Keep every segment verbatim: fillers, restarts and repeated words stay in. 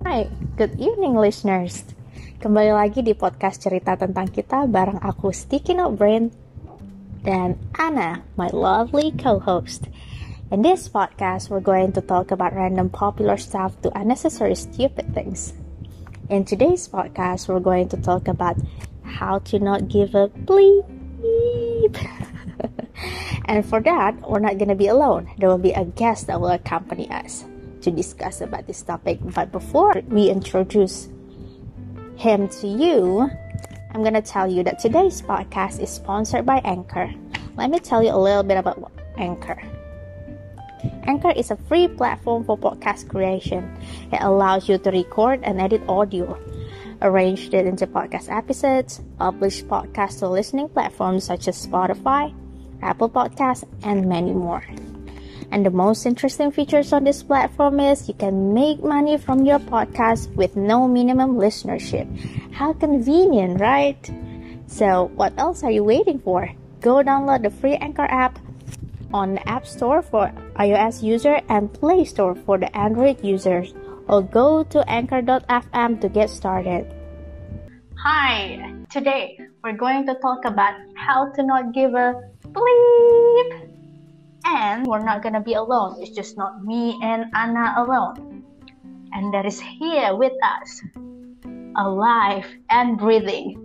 Hai, good evening listeners. Kembali lagi di podcast cerita tentang kita bareng aku Sticky Note Brain dan Anna, my lovely co-host. In this podcast, we're going to talk about random popular stuff to unnecessary stupid things. In today's podcast, we're going to talk about how to not give a bleep. And for that, we're not going to be alone. There will be a guest that will accompany us to discuss about this topic. But before we introduce him to you, I'm going to tell you that today's podcast is sponsored by Anchor. Let me tell you a little bit about Anchor. Anchor is a free platform for podcast creation. It allows you to record and edit audio, arrange it into podcast episodes, publish podcasts to listening platforms such as Spotify, Apple Podcasts, and many more. And the most interesting features on this platform is you can make money from your podcast with no minimum listenership. How convenient, right? So what else are you waiting for? Go download the free Anchor app on the App Store for iOS user and Play Store for the Android users, or go to anchor dot f m to get started. Hi, today we're going to talk about how to not give a bleep. And we're not gonna be alone. It's just not me and Anna alone. And that is here with us, alive and breathing,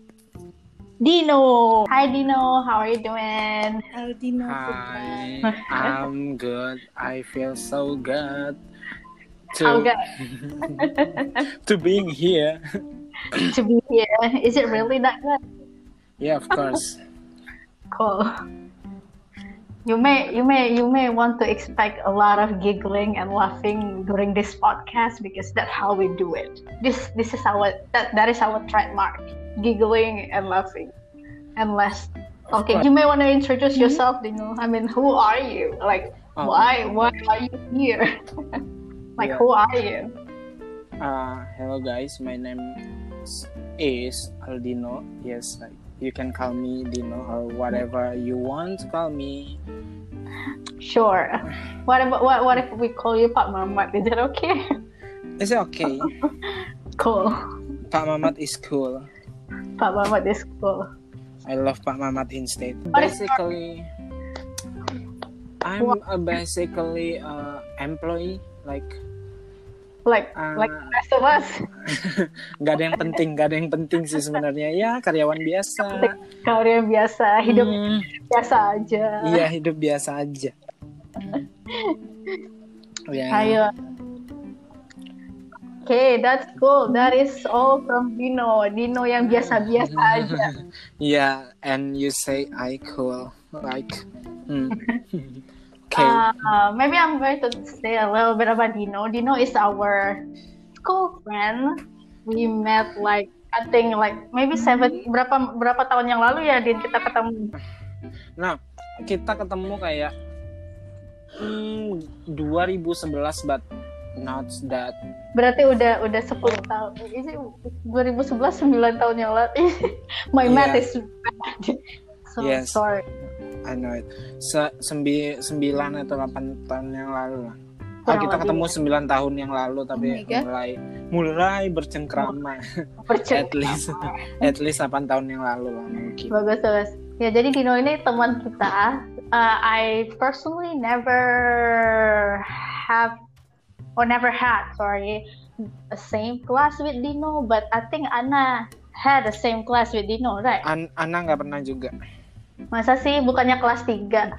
Dino. Hi Dino, how are you doing? Hi Dino. Hi, I'm good. I feel so good to How good? to being here. To be here. Is it really that good? Yeah, of course. Cool. You may you may you may want to expect a lot of giggling and laughing during this podcast because that's how we do it. This this is our that, that is our trademark. Giggling and laughing. Unless okay, you may want to introduce yourself, Dino. I mean, who are you? Like Oh. why why are you here? Like Yeah. who are you? Uh, hello guys, my name is, is Aldino. Yes, like you can call me Dino or whatever you want to call me. Sure. What about what what if we call you Pak Mamat? Is it okay? It's okay. Cool. Pak Mamat is cool. Pak Mamat is cool. I love Pak Mamat instead. What is- Basically, I'm a basically uh, employee like. Like Uh, like the rest of us. Gak ada yang penting, gak ada yang penting sih sebenarnya. Ya karyawan biasa. Karya biasa, hidup Hmm, biasa aja. iya hidup biasa aja. Ya. Ayo. Okay, that's cool. That is all from Dino. Dino yang biasa-biasa aja. Yeah, and you say I cool like. Hmm. Okay. Uh, maybe I'm going to say a little bit about Dino. Dino is our school friend. We met like I think like maybe seven berapa berapa tahun yang lalu ya Din kita ketemu. Nah, kita ketemu kayak hmm, dua ribu sebelas but not that. Berarti udah udah sepuluh tahun. Ini dua ribu sebelas sembilan tahun yang lalu. My math Yeah. is bad. So Yes. sorry. I know it. Se- sembi- sembilan atau delapan tahun yang lalu lah. Ah, Kurang kita lebih. ketemu sembilan tahun yang lalu tapi Oh my God. mulai mulai bercengkrama. Percaya. at least at least delapan tahun yang lalu lah mungkin. Bagus bagus. Ya jadi Dino ini teman kita. Uh, I personally never have or never had sorry a same class with Dino, but I think Anna had the same class with Dino, right? An- Ana nggak pernah juga. Masa sih bukannya kelas tiga?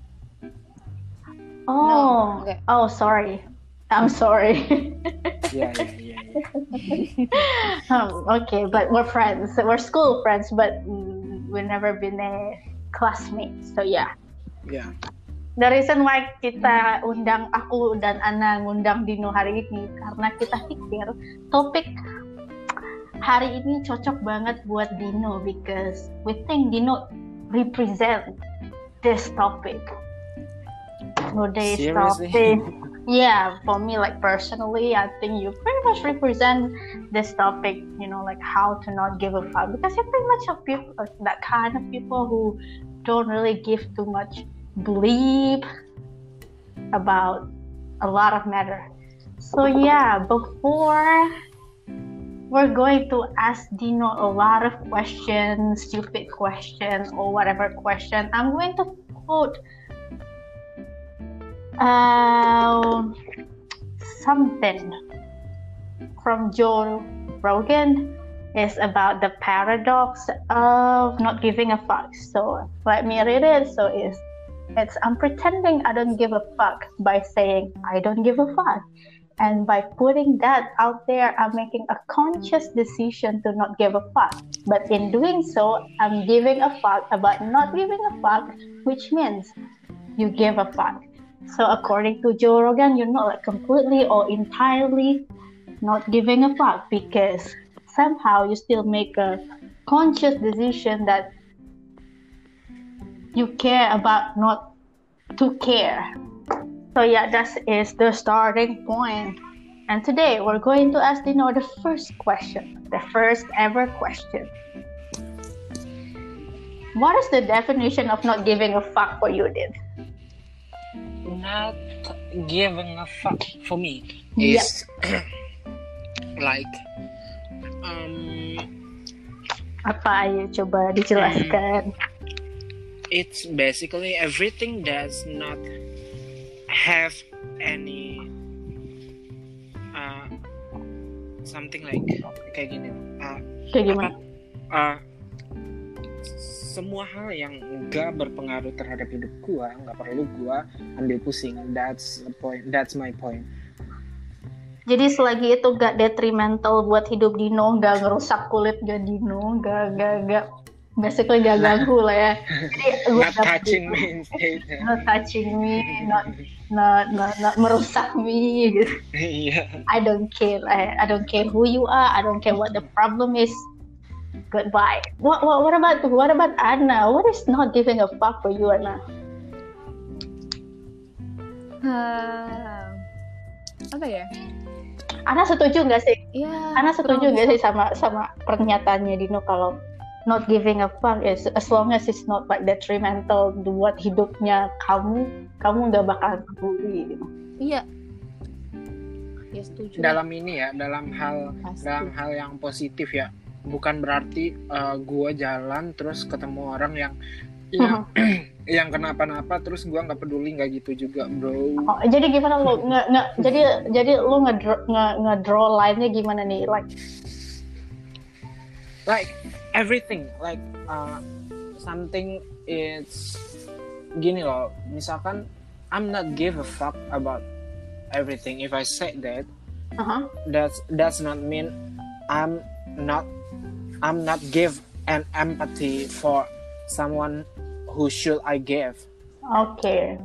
Oh, No, enggak. oh sorry. I'm sorry. Iya iya iya. um, okay, but we're friends. We're school friends, but mm, we've never been a classmates. So yeah. Iya. The reason why kita undang aku dan Ana ngundang Dino hari ini karena kita pikir topik hari ini cocok banget buat Dino because we think Dino represent this topic. Today's Seriously? topic. Yeah, for me, like personally, I think you pretty much represent this topic. You know, like how to not give a fuck because you're pretty much a people, that kind of people who don't really give too much bleep about a lot of matter. So yeah, before we're going to ask Dino a lot of questions, stupid questions or whatever question, I'm going to quote uh, something from Joe Rogan. Is about the paradox of not giving a fuck. So let me read it. So it's it's I'm pretending I don't give a fuck by saying I don't give a fuck. And by putting that out there, I'm making a conscious decision to not give a fuck. But in doing so, I'm giving a fuck about not giving a fuck, which means you give a fuck. So according to Joe Rogan, you're not like completely or entirely not giving a fuck, because somehow you still make a conscious decision that you care about not to care. So yeah, that is the starting point. And today we're going to ask Dino the first question, the first ever question. What is the definition of not giving a fuck for you, Din? Not giving a fuck for me is yep. like um apa ayo coba dijelaskan. It's basically everything does not have any uh, something like kayak gini uh, kayak gimana? Apa, uh, semua hal yang enggak berpengaruh terhadap hidup gua, enggak perlu gua ambil pusing. That's the point. That's my point. Jadi selagi itu gak detrimental buat hidup Dino, gak ngerusak kulit gak Dino, gak gak gak basically gak ganggu lah ya. Jadi not touching me instead. Not touching me, not not not, not merusak me gitu. Yeah. I don't care. I, I don't care who you are. I don't care what the problem is. Goodbye. What what what about what about Anna? What is not giving a fuck for you, Anna? Hmm, apa ya? Ana setuju nggak sih? Ya, Ana setuju nggak sih sama sama pernyataannya Dino kalau not giving a fuck is as long as it's not like detrimental buat hidupnya kamu, kamu nggak bakal peduli. Gitu. Iya. Ya setuju. Dalam ini ya, dalam hal Pasti. dalam hal yang positif ya. Bukan berarti uh, gue jalan terus ketemu orang yang yang, yang kenapa-napa terus gue nggak peduli, nggak gitu juga, bro. Oh, jadi gimana lo nggak nggak jadi jadi lo ngedraw nge, nge-draw line-nya gimana nih, like like everything like uh, something is gini loh, misalkan I'm not give a fuck about everything. If I say that, uh-huh. that's that's not mean I'm not I'm not give an empathy for someone who should I give. Okay.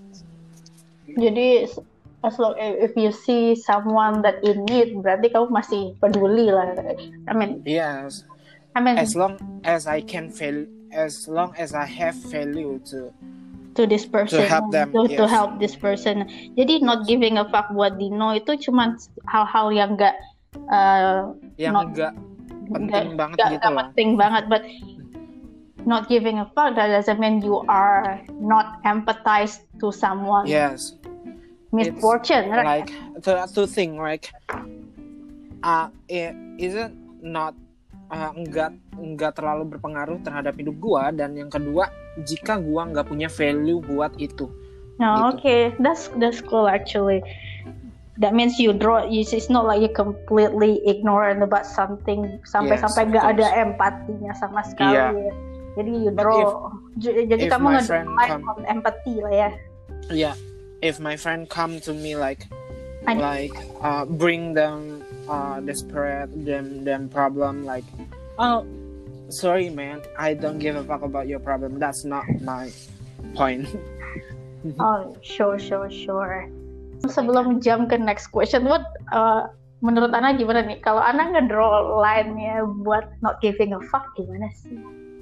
Jadi as long if you see someone that in need, berarti kamu masih peduli lah. I mean. Yes. I mean. As long as I can feel, as long as I have value to. To this person. To help them. To, yes. to help this person. Jadi not giving a fuck buat Dino itu cuma hal-hal yang enggak. Uh, yang not, enggak penting gak, banget gak, gitu gak loh. Penting banget, but not giving a fuck that doesn't mean you are not empathized to someone. Yes. Misfortune, it's right? Like to to think like, uh, it isn't not uh, enggak enggak terlalu berpengaruh terhadap hidup gua, dan yang kedua jika gua nggak punya value buat itu. No, gitu. Okay, that's that's cool actually. That means you draw. It's not like you completely ignorant about something sampai-sampai yes, gak ada empatinya sama sekali. Yeah. Ya. Jadi you draw. If, jadi kamu ngedraw on empathy lah ya. Yeah. If my friend come to me like, I... like uh, bring them uh, desperate, them them problem like, oh, sorry man, I don't give a fuck about your problem. That's not my point. Oh, sure, sure, sure. Sebelum jump ke next question, what uh, menurut Ana gimana nih? Kalau Ana ngedraw line-nya buat not giving a fuck gimana sih?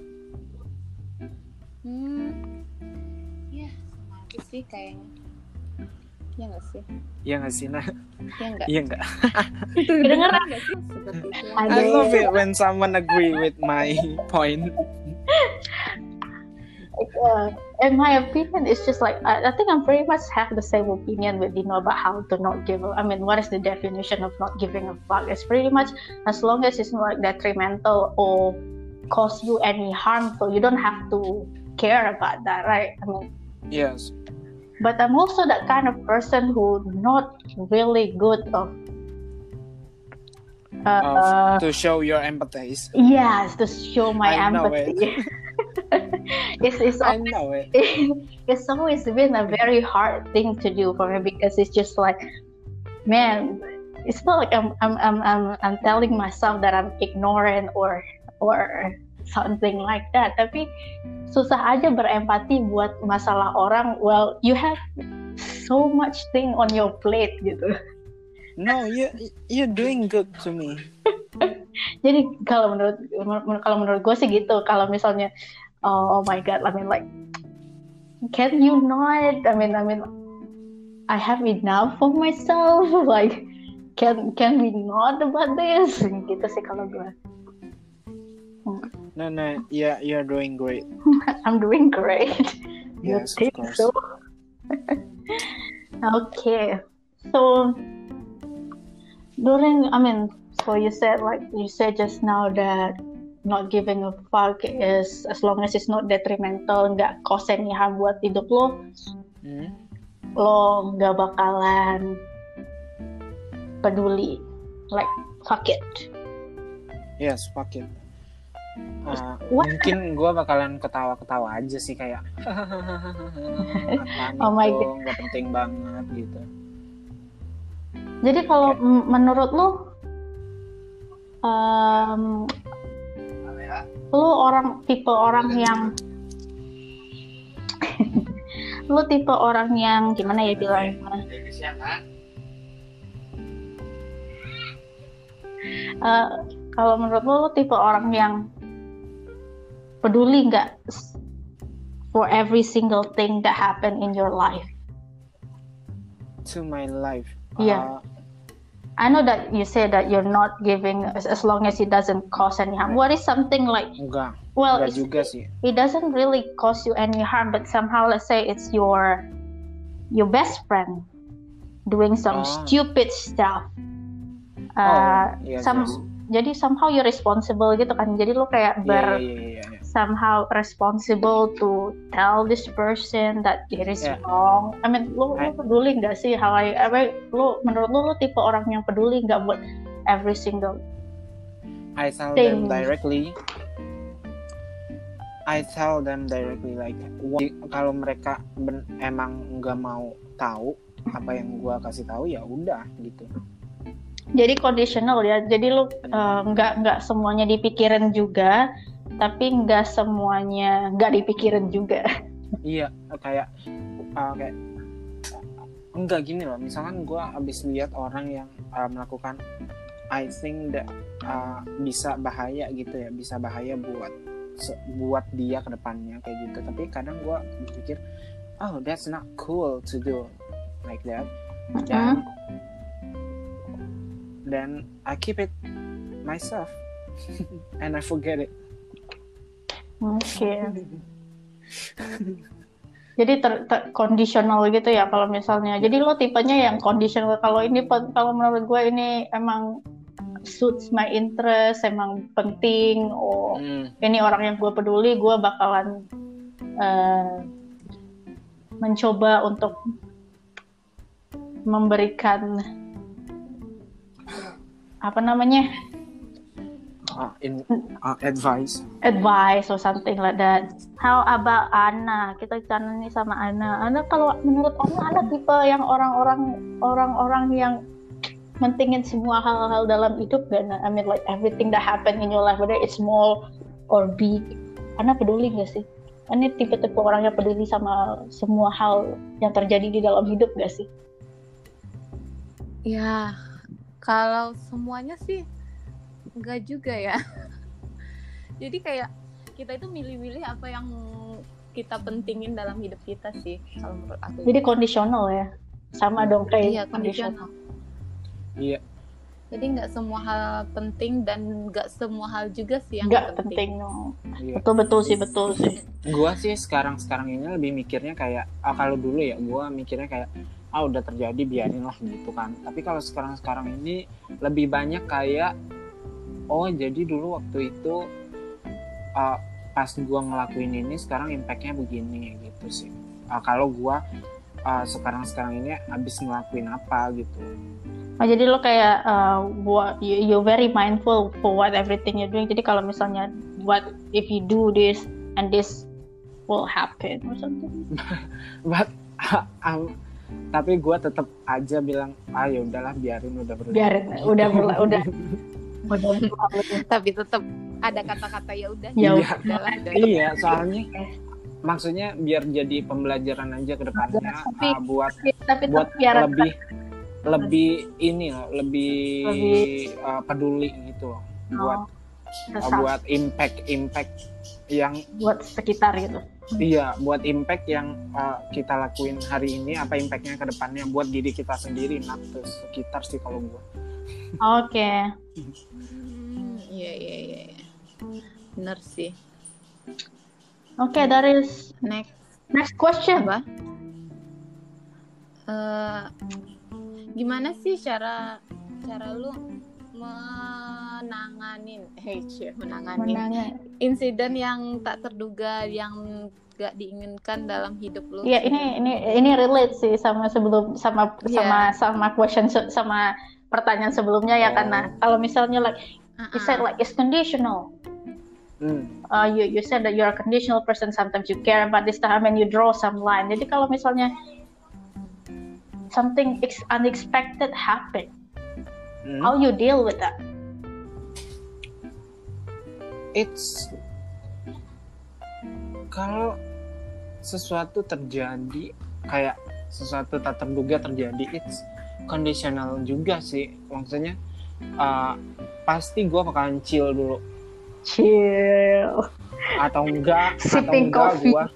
Hmm, ya sama aja sih kayaknya. Ya nggak sih? Iya nggak sih, Nah? Iya nggak? Iya nggak? Kedengeran nggak sih? Seperti itu. I love it when someone agree with my point. uh, in my opinion, it's just like I, I think I'm pretty much have the same opinion with Dino about how to not give. A, I mean, what is the definition of not giving a fuck? It's pretty much as long as it's not like detrimental or cause you any harm, so you don't have to care about that, right? I mean, Yes. but I'm also that kind of person who not really good of. Uh, Of, to show your empathies. yes, to show my I know empathy. it's it's I always, know it. it's always been a very hard thing to do for me because it's just like, man, it's not like I'm I'm I'm I'm, I'm telling myself that I'm ignorant or or something like that. Tapi susah aja berempati buat masalah orang. Well, you have so much thing on your plate gitu. No, you you're doing good to me. Jadi kalau menurut kalau menurut gue sih gitu. Kalau misalnya oh, oh my god, I mean like can you not? I mean I mean I have enough for myself. Like can can we not about this? Gitu sih kalau gue. No, no, yeah, you're doing great. I'm doing great. You Yes, of think course. so? Okay, so. During, I mean, so you said like you said just now that not giving a fuck is as long as it's not detrimental, nggak cause any harm buat hidup lo, Hmm? lo nggak bakalan peduli, like fuck it. Yes, fuck it. Uh, What? mungkin gue bakalan ketawa-ketawa aja sih kayak apaan Oh my itu God. nggak penting banget gitu. Jadi kalau Okay. m- menurut lo, um, lo orang tipe orang yang lo tipe orang yang gimana ya bilangnya? Uh, kalau menurut lo, lo tipe orang yang peduli nggak for every single thing that happen in your life? To my life. Yeah. Uh, I know that you say that you're not giving as, as long as it doesn't cause any harm. What is something like? enggak. Well, enggak it's, juga sih. it doesn't really cause you any harm, but somehow, let's say it's your your best friend doing some Oh. stupid stuff. Oh, Uh, yes, some yes. Jadi somehow you're responsible gitu kan. Jadi lo kayak Iya, ber iya, iya, iya, iya. somehow responsible to tell this person that it is Yeah. wrong. I mean, lo, lo I- peduli nggak sih hal I, apa lo menurut lo lo tipe orang yang peduli nggak buat every single I tell thing. them directly. I tell them directly like what- kalau mereka ben- emang nggak mau tahu apa yang gua kasih tahu ya udah gitu. Jadi conditional ya. Jadi lo uh, nggak nggak semuanya dipikirin juga, tapi nggak semuanya nggak dipikirin juga. Iya, kayak uh, kayak enggak gini loh. Misalkan gua abis lihat orang yang uh, melakukan I think that uh, bisa bahaya gitu ya, bisa bahaya buat se- buat dia ke depannya kayak gitu. Tapi kadang gua berpikir, oh that's not cool to do like that. Dan then I keep it myself and I forget it. Oke. Jadi ter, ter conditional gitu ya kalau misalnya. Jadi lo tipenya yang conditional. Kalau ini pen- kalau menurut gue ini emang suits my interest, emang penting. Oh, Hmm. ini orang yang gue peduli, gue bakalan eh, mencoba untuk memberikan apa namanya Uh, in uh, advice. advice or something like that. How about Ana? Kita bicara nih sama Ana. Ana kalau menurut Ana, Ana tipe yang orang-orang orang-orang yang mentingin semua hal-hal dalam hidup gak? I mean like everything that happen in your life, whether it's small or big. Ana peduli gak sih? Ana tipe-tipe orang yang peduli sama semua hal yang terjadi di dalam hidup gak sih? Ya, kalau semuanya sih enggak juga ya. Jadi kayak kita itu milih-milih apa yang kita pentingin dalam hidup kita sih, kalau menurut aku. Jadi conditional ya? Sama dong kayak Iya, conditional. Iya. Jadi nggak semua hal penting dan nggak semua hal juga sih yang Nggak penting. penting, no. Iya. Betul betul sih betul sih. Gua sih sekarang sekarang ini lebih mikirnya kayak ah, kalau dulu ya gua mikirnya kayak ah udah terjadi biarin lah gitu kan. Tapi kalau sekarang sekarang ini lebih banyak kayak oh jadi dulu waktu itu uh, pas gua ngelakuin ini sekarang impactnya begini gitu sih. Uh, kalau gua uh, sekarang sekarang ini abis ngelakuin apa gitu. Oh, jadi lo kayak uh, what you you're very mindful for what everything you're doing. Jadi kalau misalnya what if you do this and this will happen or something. But um, tapi gue tetap aja bilang ah ya udahlah biarin udah berlalu. Biarin udah berla, udah udah berlalu. Tapi tetap ada kata-kata ya udah. Ya Iya. udahlah. udah. Iya, soalnya maksudnya biar jadi pembelajaran aja ke depannya Tapi- uh, buat Tapi buat tetap biar lebih lebih ini loh, lebih, Lebih- uh, peduli gitu loh. Buat uh, resah buat impact impact yang buat sekitar gitu. iya, buat impact yang uh, kita lakuin hari ini apa impactnya ke depannya buat diri kita sendiri, not ke sekitar sih kalau gua. Oke. Hmm, Iya iya iya. iya. Bener sih. Oke, that is Next next question. apa? Eh, gimana sih cara cara lu menanganin, hey, cie, menanganin Menanya. insiden yang tak terduga yang gak diinginkan dalam hidup lu? Iya, ini ini ini relate sih sama sebelum sama Iya. sama sama question se- sama pertanyaan sebelumnya ya, Oh. karena kalau misalnya like Uh-uh. you said like it's conditional. Hmm. Uh, you you said that you're a conditional person. Sometimes you care about this time and you draw some line. Jadi kalau misalnya something ex- unexpected happen, Hmm. how you deal with that? It's kalau sesuatu terjadi kayak sesuatu tak terduga terjadi, it's conditional juga sih. Maksudnya uh, pasti gue bakalan chill dulu Chill. atau enggak atau Sipping enggak coffee. gue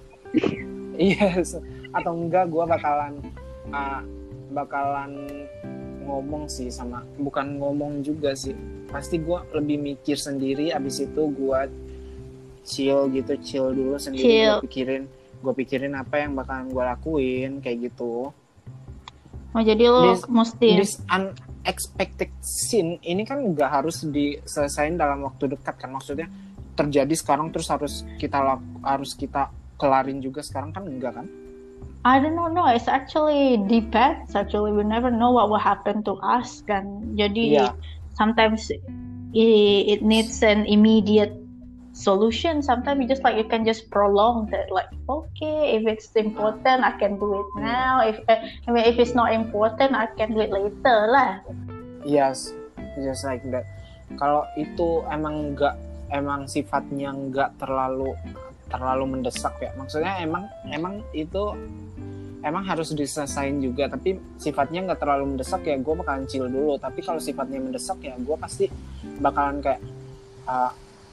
yes atau enggak gue bakalan uh, bakalan ngomong sih sama bukan ngomong juga sih, pasti gue lebih mikir sendiri, abis itu gue chill gitu chill dulu sendiri, Chill. gue pikirin gue pikirin apa yang bakalan gue lakuin kayak gitu. Oh, jadi lo This- mesti This unexpected scene ini kan nggak harus diselesain dalam waktu dekat kan, maksudnya terjadi sekarang terus harus kita lak- harus kita kelarin juga sekarang kan enggak kan. I don't know, no, it's actually depends. Actually, we never know what will happen to us. Kan, jadi Iya. sometimes it, it needs an immediate solution. Sometimes you just like you can just prolong that. Like, okay, if it's important, I can do it now. If uh, I mean, if it's not important, I can do it later lah. Yes, just like that. Kalau itu emang nggak emang sifatnya nggak terlalu terlalu mendesak ya, maksudnya emang emang itu emang harus diselesain juga, tapi sifatnya nggak terlalu mendesak ya gue bakalan chill dulu. Tapi kalau sifatnya mendesak ya gue pasti bakalan kayak uh,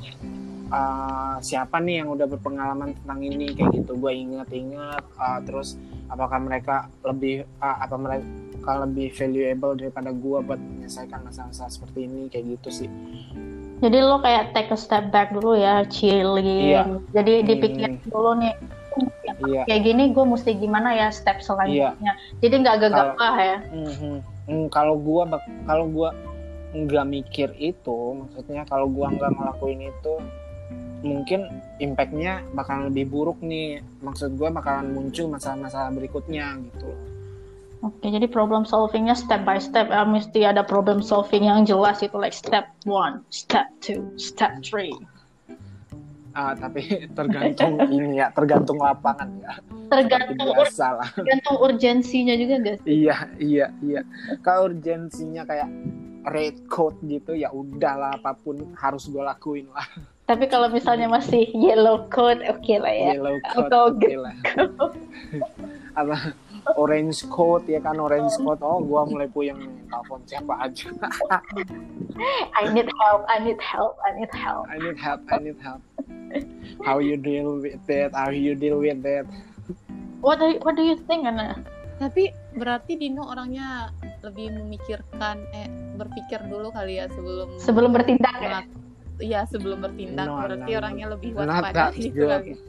uh, siapa nih yang udah berpengalaman tentang ini kayak gitu, gue ingat-ingat uh, terus apakah mereka lebih uh, apa mereka lebih valuable daripada gue buat menyelesaikan masalah-masalah seperti ini kayak gitu sih. Jadi lo kayak take a step back dulu ya, chillin. Iya. Jadi dipikir Hmm. dulu nih, Iya. kayak gini gue mesti gimana ya step selanjutnya. Jadi nggak gegabah ya. Mhm. Hmm, kalau gua bak- kalau gua nggak mikir itu, maksudnya kalau gua nggak ngelakuin itu, mungkin impactnya bakalan lebih buruk nih. Maksud gua bakalan muncul masalah-masalah berikutnya gitu. Oke, jadi problem solvingnya step by step. Eh, mesti ada problem solving yang jelas itu, like step one, step two, step three. Ah, tapi tergantung ini ya, tergantung lapangan ya. Tergantung Seperti biasa lah. tergantung urgensinya juga guys. Iya, iya, iya. Kalau urgensinya kayak red code gitu ya udahlah, apapun harus gua lakuin lah. Tapi kalau misalnya masih yellow code, oke lah ya. Yellow code, Atau oke lah. Apa orange code ya kan, orange code. Oh, gua mulai puyeng nih, telepon siapa aja. I need help, I need help, I need help. I need help, I need help. How you deal with that? How you deal with that? What do you, what do you think, Anna? Tapi Berarti Dino orangnya lebih memikirkan, eh berpikir dulu kali ya sebelum sebelum bertindak ya. melak- Iya sebelum bertindak. No, Berarti no, no. orangnya lebih Not waspada that gitu good. kali.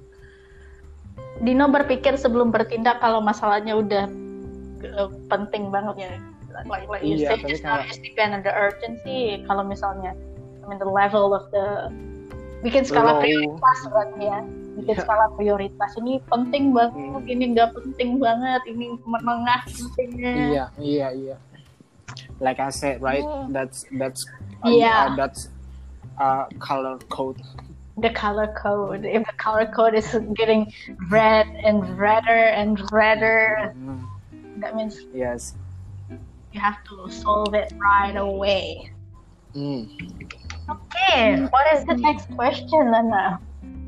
Dino berpikir sebelum bertindak kalau masalahnya udah uh, penting banget ya. Like, like you Iya, said tapi just now, kalau- it's depend on the urgency. Kalau misalnya, I mean the level of the bikin skala Low. prioritas berarti ya. Bikin Iya. skala prioritas. Ini penting banget, Hmm. ini nggak penting banget, ini menengah pentingnya. Iya, iya, iya. Like I said, right? Oh. That's that's uh, Yeah. uh, that's uh, color code. The color code. If the color code is getting red and redder and redder, Mm, that means yes. you have to solve it right away. Mm. Okay, what is the next question, Lana?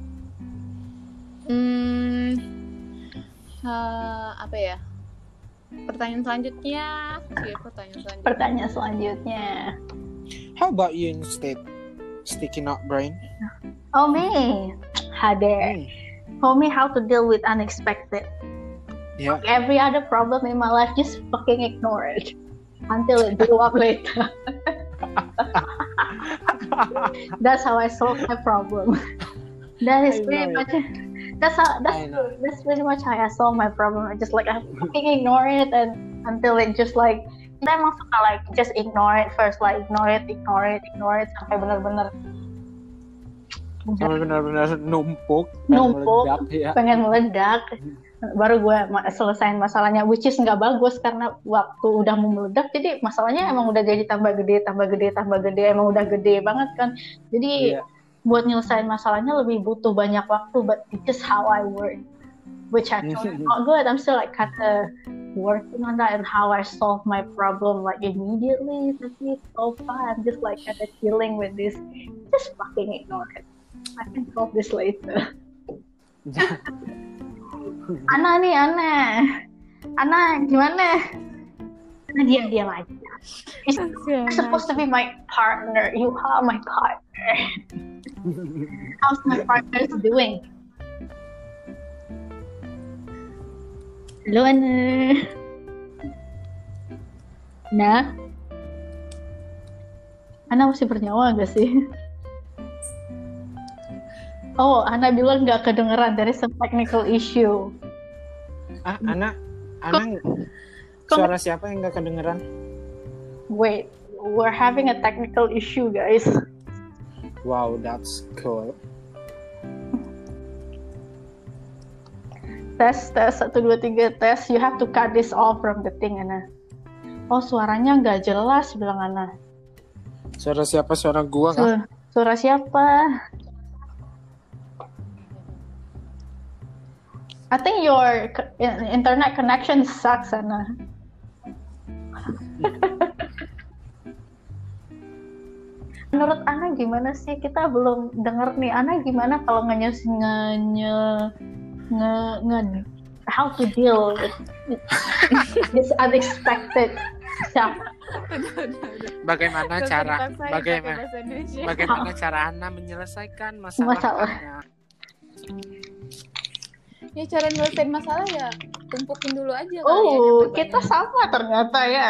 Hmm, eh, apa ya? Pertanyaan selanjutnya, Oke, pertanyaan selanjutnya. Pertanyaan selanjutnya. How about you instead? Sticky Not Brain. Oh me, Hade. Mm. For me, how to deal with unexpected. Yeah. Every other problem in my life, just fucking ignore it until it blew up later. That's how I solve my problem. That is I pretty know much. That's how. I That's know. that's pretty much how I solve my problem. I just like I fucking ignore it and until it just like. Kita emang suka like just ignore it first, like ignore it, ignore it, ignore it sampai benar-benar Sampai benar-benar numpuk, dan Numpuk. meledak, ya. pengen meledak. Baru gue ma- selesain masalahnya, which is nggak bagus karena waktu udah mau meledak, jadi masalahnya emang udah jadi tambah gede, tambah gede, tambah gede, emang udah gede banget kan. Jadi Iya. buat nyelesain masalahnya lebih butuh banyak waktu, but it's just how I work, which actually not good. I'm still like kind of working on that and how I solve my problem like immediately. Tapi so far I'm just like kind of dealing with this. Just fucking ignore it. I can solve this later. Ana nih, Ana. Ana, gimana? Ana diam-diam aja. You're supposed to be my partner. You are my partner. How's my partner doing? Halo, Ana. Nah. Ana masih bernyawa gak sih? Oh, Ana bilang gak kedengeran. There is a technical issue. Ah, Ana, Ana, suara siapa yang nggak kedengeran? Wait, we're having a technical issue, guys. Wow, that's cool. Tes, tes, satu, dua, tiga, tes. You have to cut this off from the thing, Ana. Oh, suaranya nggak jelas, bilang Ana. Suara siapa? Suara gua Su- kah? suara siapa? I think your co- in- internet connection sucks, Ana. Menurut Ana gimana sih? Kita belum denger nih. Ana gimana kalau nge nge nge nge, nge- how to deal with this unexpected stuff? Bagaimana cara Saya bagaimana pakai bahasa Indonesia. bagaimana cara Ana menyelesaikan masalah? Masalah. Ana? Ya cara nyelesain masalah ya tumpukin dulu aja kali ya. Oh, capek kita banget. sama ternyata ya.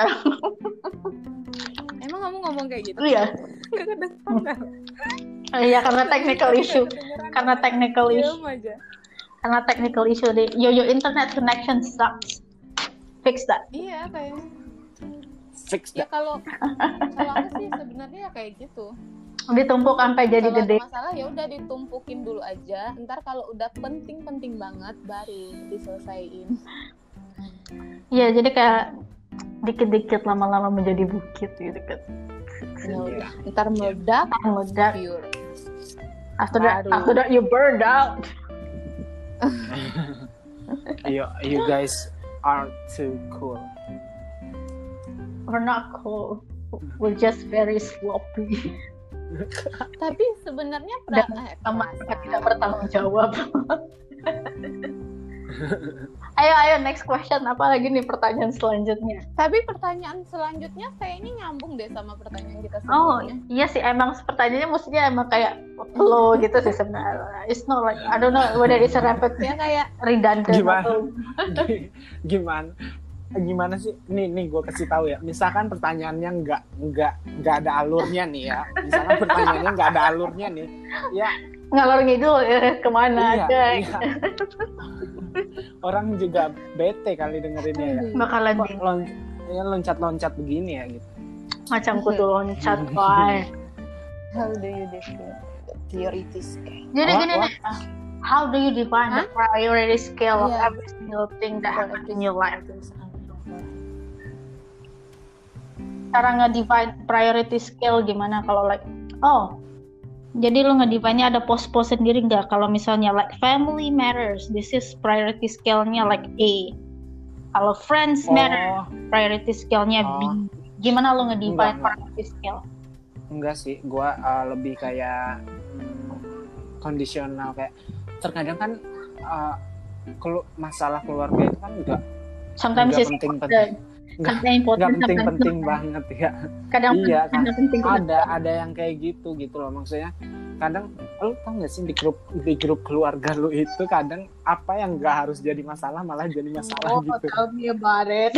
Emang kamu ngomong kayak gitu? Iya. Gak kedengeran. Iya, karena technical issue. Karena technical issue. Diam aja. Karena technical issue deh. Yo, your internet connection sucks. Fix that. Iya kayaknya. Fix Ya that. kalau kalau aku sih sebenarnya ya kayak gitu. Ditumpuk sampai jadi Kalau gede. ada masalah ya udah ditumpukin dulu aja. Ntar kalau udah penting-penting banget baru diselesaiin. Iya, jadi kayak dikit-dikit lama-lama menjadi bukit gitu kan. Ya udah. Ntar meledak. Meledak. Pure. After that, Baru. after that you burned out. you you guys are too cool. We're not cool. We're just very sloppy. Tapi sebenarnya Dan pra- eh, sama perasaan. tidak bertanggung jawab. Ayo, ayo next question. Apa lagi nih pertanyaan selanjutnya? Tapi pertanyaan selanjutnya kayaknya nyambung deh sama pertanyaan kita Oh, sebelumnya. iya sih, emang pertanyaannya mestinya emang kayak flow gitu sih sebenarnya. It's not like I don't know whether it's a repetitive Ya kayak redundant Gimana? atau Gimana gimana sih? Nih nih gue kasih tahu ya. Misalkan pertanyaannya nggak nggak nggak ada alurnya nih ya. Misalkan pertanyaannya nggak ada alurnya nih, ya ngalor ngidul ya, kemana iya, aja. iya. Orang juga bete kali dengerinnya ya. Bakalan Kok lon, ya loncat-loncat begini ya gitu. macam kutu loncat, boy. How do you define priority scale? Jadi What, gini what? nih, how do you define the priority scale of Yeah. every single thing that happens in your life? Cara nge-define priority scale gimana kalau like, oh, jadi lo nge-define-nya ada pos-pos sendiri nggak? Kalau misalnya like family matters, this is priority scale-nya like A. Kalau friends Oh. matter, priority scale-nya B. Oh. Gimana lo nge-define Enggak, enggak. priority scale? Enggak sih, gue uh, lebih kayak hmm, kondisional, kayak terkadang kan uh, kelu- masalah keluarga itu kan enggak Sometimes enggak it's penting-penting, enggak kadang important, enggak sometimes penting-penting not. banget ya. Kadang Iya, kadang kan. penting. Ada ada yang kayak gitu gitu loh, maksudnya kadang lu tau gak sih di grup di grup keluarga lu itu kadang apa yang nggak harus jadi masalah malah jadi masalah Oh, gitu. tell me about it.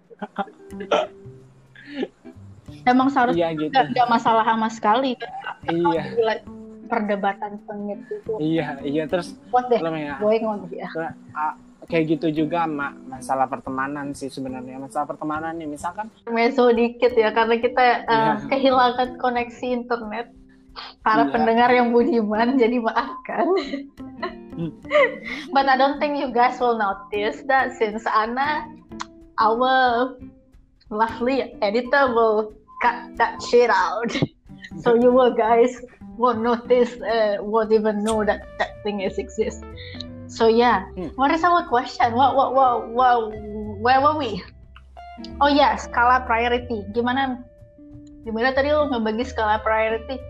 Emang seharusnya Iya gitu. nggak ada masalah sama sekali kan? Iya. Like, perdebatan sengit itu. Iya, iya terus What the lo ya, going on here? kayak gitu juga ma- masalah pertemanan sih sebenarnya. Masalah pertemanan nih misalkan Meso dikit ya karena kita uh, Iya. kehilangan koneksi internet. Para Iya. pendengar yang budiman jadi maafkan. Hmm. But I don't think you guys will notice that since Anna, our lovely editor will cut that shit out. So you will guys won't notice, uh, won't even know that that thing is exist. So yeah, Hmm. what is our question? What, what, what, what, where were we? Oh ya, yeah, skala priority. Gimana? Gimana tadi lo ngebagi skala priority?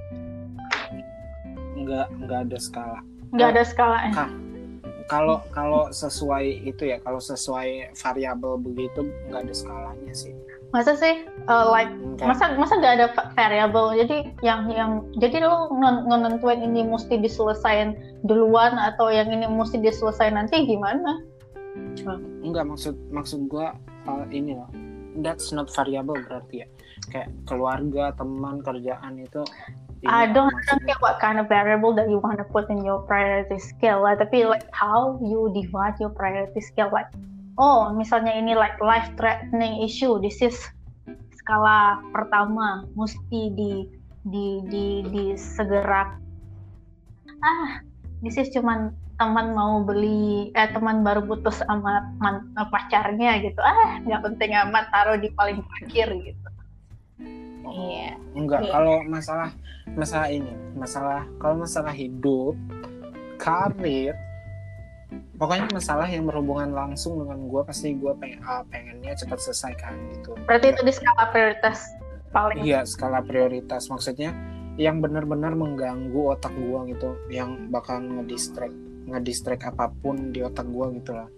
nggak nggak ada skala. Nggak ada skala. Kah, kalau kalau sesuai itu ya, kalau sesuai variabel begitu nggak ada skalanya sih. Masa sih? Uh, like Enggak. masa masa nggak ada va- variable? Jadi yang yang jadi lo nge- ngenentuin ini mesti diselesain duluan atau yang ini mesti diselesain nanti gimana? Enggak, maksud maksud gua uh, ini loh. That's not variable berarti ya. Kayak keluarga, teman, kerjaan itu. I ini don't, I don't maksudnya. care what kind of variable that you want to put in your priority scale lah. Tapi like how you divide your priority scale, like oh misalnya ini like life threatening issue, this is skala pertama mesti di di di di segera. Ah, this is cuman teman mau beli eh teman baru putus sama man, pacarnya gitu. Ah, nggak penting amat, taruh di paling akhir gitu. Iya. Enggak, Iya. kalau masalah masalah ini, masalah kalau masalah hidup, karir, pokoknya masalah yang berhubungan langsung dengan gue pasti gue pengen ah, pengennya cepat selesaikan gitu. Berarti itu di skala prioritas paling. Iya, skala prioritas maksudnya yang benar-benar mengganggu otak gue gitu, yang bakal ngedistract ngedistract apapun di otak gue gitu lah.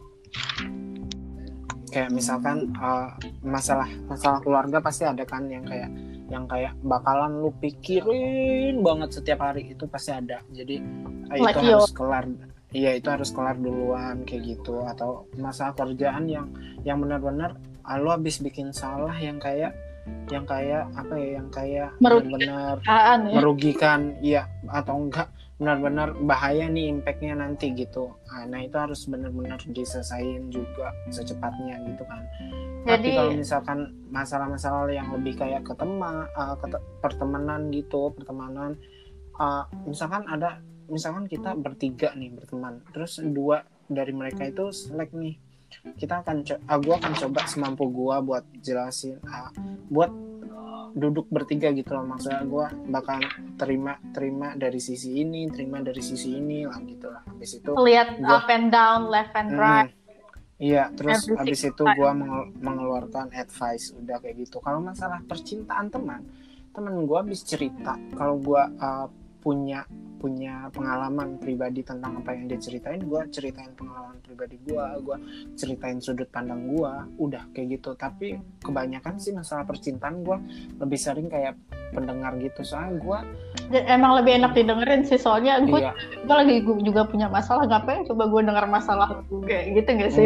Kayak misalkan uh, masalah masalah keluarga pasti ada kan yang kayak yang kayak bakalan lu pikirin banget setiap hari, itu pasti ada. Jadi uh, itu Like harus kelar. Iya, itu harus kelar duluan kayak gitu. Atau masalah kerjaan yang yang benar-benar uh, lu habis bikin salah yang kayak yang kayak apa ya, yang kayak benar-benar Perusahaan ya. merugikan, iya atau enggak benar-benar bahaya nih impactnya nanti gitu. Nah itu harus benar-benar diselesain juga secepatnya gitu kan. Tapi Jadi- kalau misalkan masalah-masalah yang lebih kayak ke teman, uh, ke te- pertemanan gitu, pertemanan, uh, misalkan ada, misalkan kita bertiga nih berteman, terus dua dari mereka itu selek nih, kita akan, co- uh, gue akan coba semampu gue buat jelasin, uh, buat duduk bertiga gitu loh, maksudnya gue bakal terima terima dari sisi ini, terima dari sisi ini lah gitu lah. Habis itu Lihat Gua- up and down, left and right. Hmm, iya, terus Everything habis itu fine. gue mengeluarkan advice, udah kayak gitu. Kalau masalah percintaan teman, teman gue habis cerita, kalau gue uh, punya punya pengalaman pribadi tentang apa yang dia ceritain, gue ceritain pengalaman pribadi gue, gue ceritain sudut pandang gue, udah kayak gitu. Tapi kebanyakan sih masalah percintaan gue lebih sering kayak pendengar gitu, soalnya gue Emang lebih enak didengerin sih, soalnya gue iya, gue lagi gu- juga punya masalah, ngapain coba gue denger masalah gue gitu gak sih?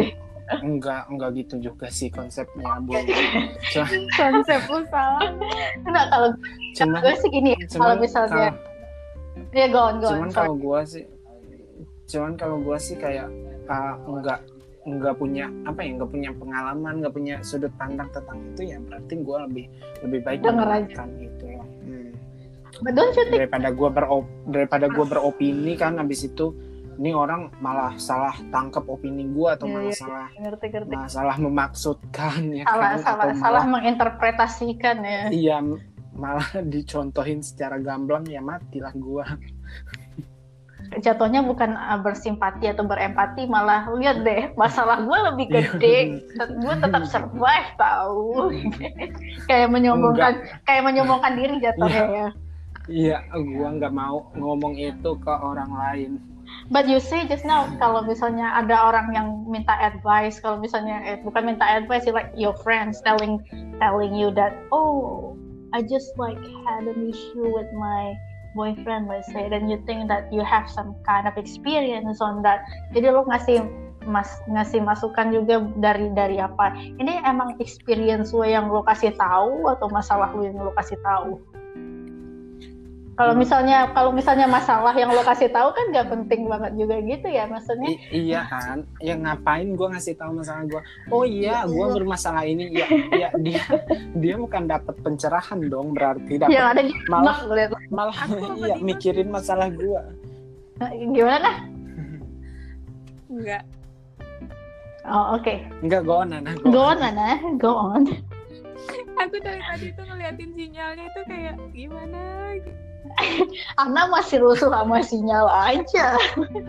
enggak enggak gitu juga sih konsepnya, Bu. Cuma, Konsep lu salah. Enggak, kalau cuman gue sih gini, kalau cuman misalnya kalau- ya go on, go on. cuman sorry. kalau gua sih cuman kalau gua sih kayak uh, enggak enggak punya apa ya enggak punya pengalaman, enggak punya sudut pandang tentang itu, ya berarti gua lebih lebih baik Denger aja. mendengarkan gitu ya. Hmm. But don't you think daripada gua berop daripada gua beropini kan habis itu ini orang malah salah tangkap opini gua atau Iya, malah iya. salah ngerti-ngerti? malah salah memaksudkan ya Salah, kan, salah, atau salah malah menginterpretasikan ya. iya malah dicontohin secara gamblang, ya matilah gua. Jatuhnya bukan uh, bersimpati atau berempati, malah lihat deh masalah gue lebih gede, gue tetap survive tahu. Kayak menyombongkan, kayak menyombongkan diri jatuhnya ya. Iya, gua nggak mau ngomong itu ke orang lain. But you say just now, kalau misalnya ada orang yang minta advice, kalau misalnya eh, bukan minta advice, like your friends telling telling you that, oh, I just like had an issue with my boyfriend, let's say, then you think that you have some kind of experience on that. Jadi lo ngasih mas ngasih masukan juga dari dari apa? Ini emang experience lo yang lo kasih tahu atau masalah lo yang lo kasih tahu? Kalau misalnya kalau misalnya masalah yang lo kasih tahu kan gak penting banget juga gitu ya, maksudnya. I- iya kan, ya ngapain gue ngasih tahu masalah gue? Oh iya, gue bermasalah ini. Ya, ya dia dia bukan dapat pencerahan dong, berarti dapat Yang ada di malah ngeliat. malah Aku apa iya gitu? mikirin masalah gue. Gimana kah? Enggak. Oh oke, Enggak, go on, Nana. go on Nana, go on. Aku dari tadi tuh ngeliatin sinyalnya itu kayak gimana gitu. Ana masih rusuh sama sinyal aja.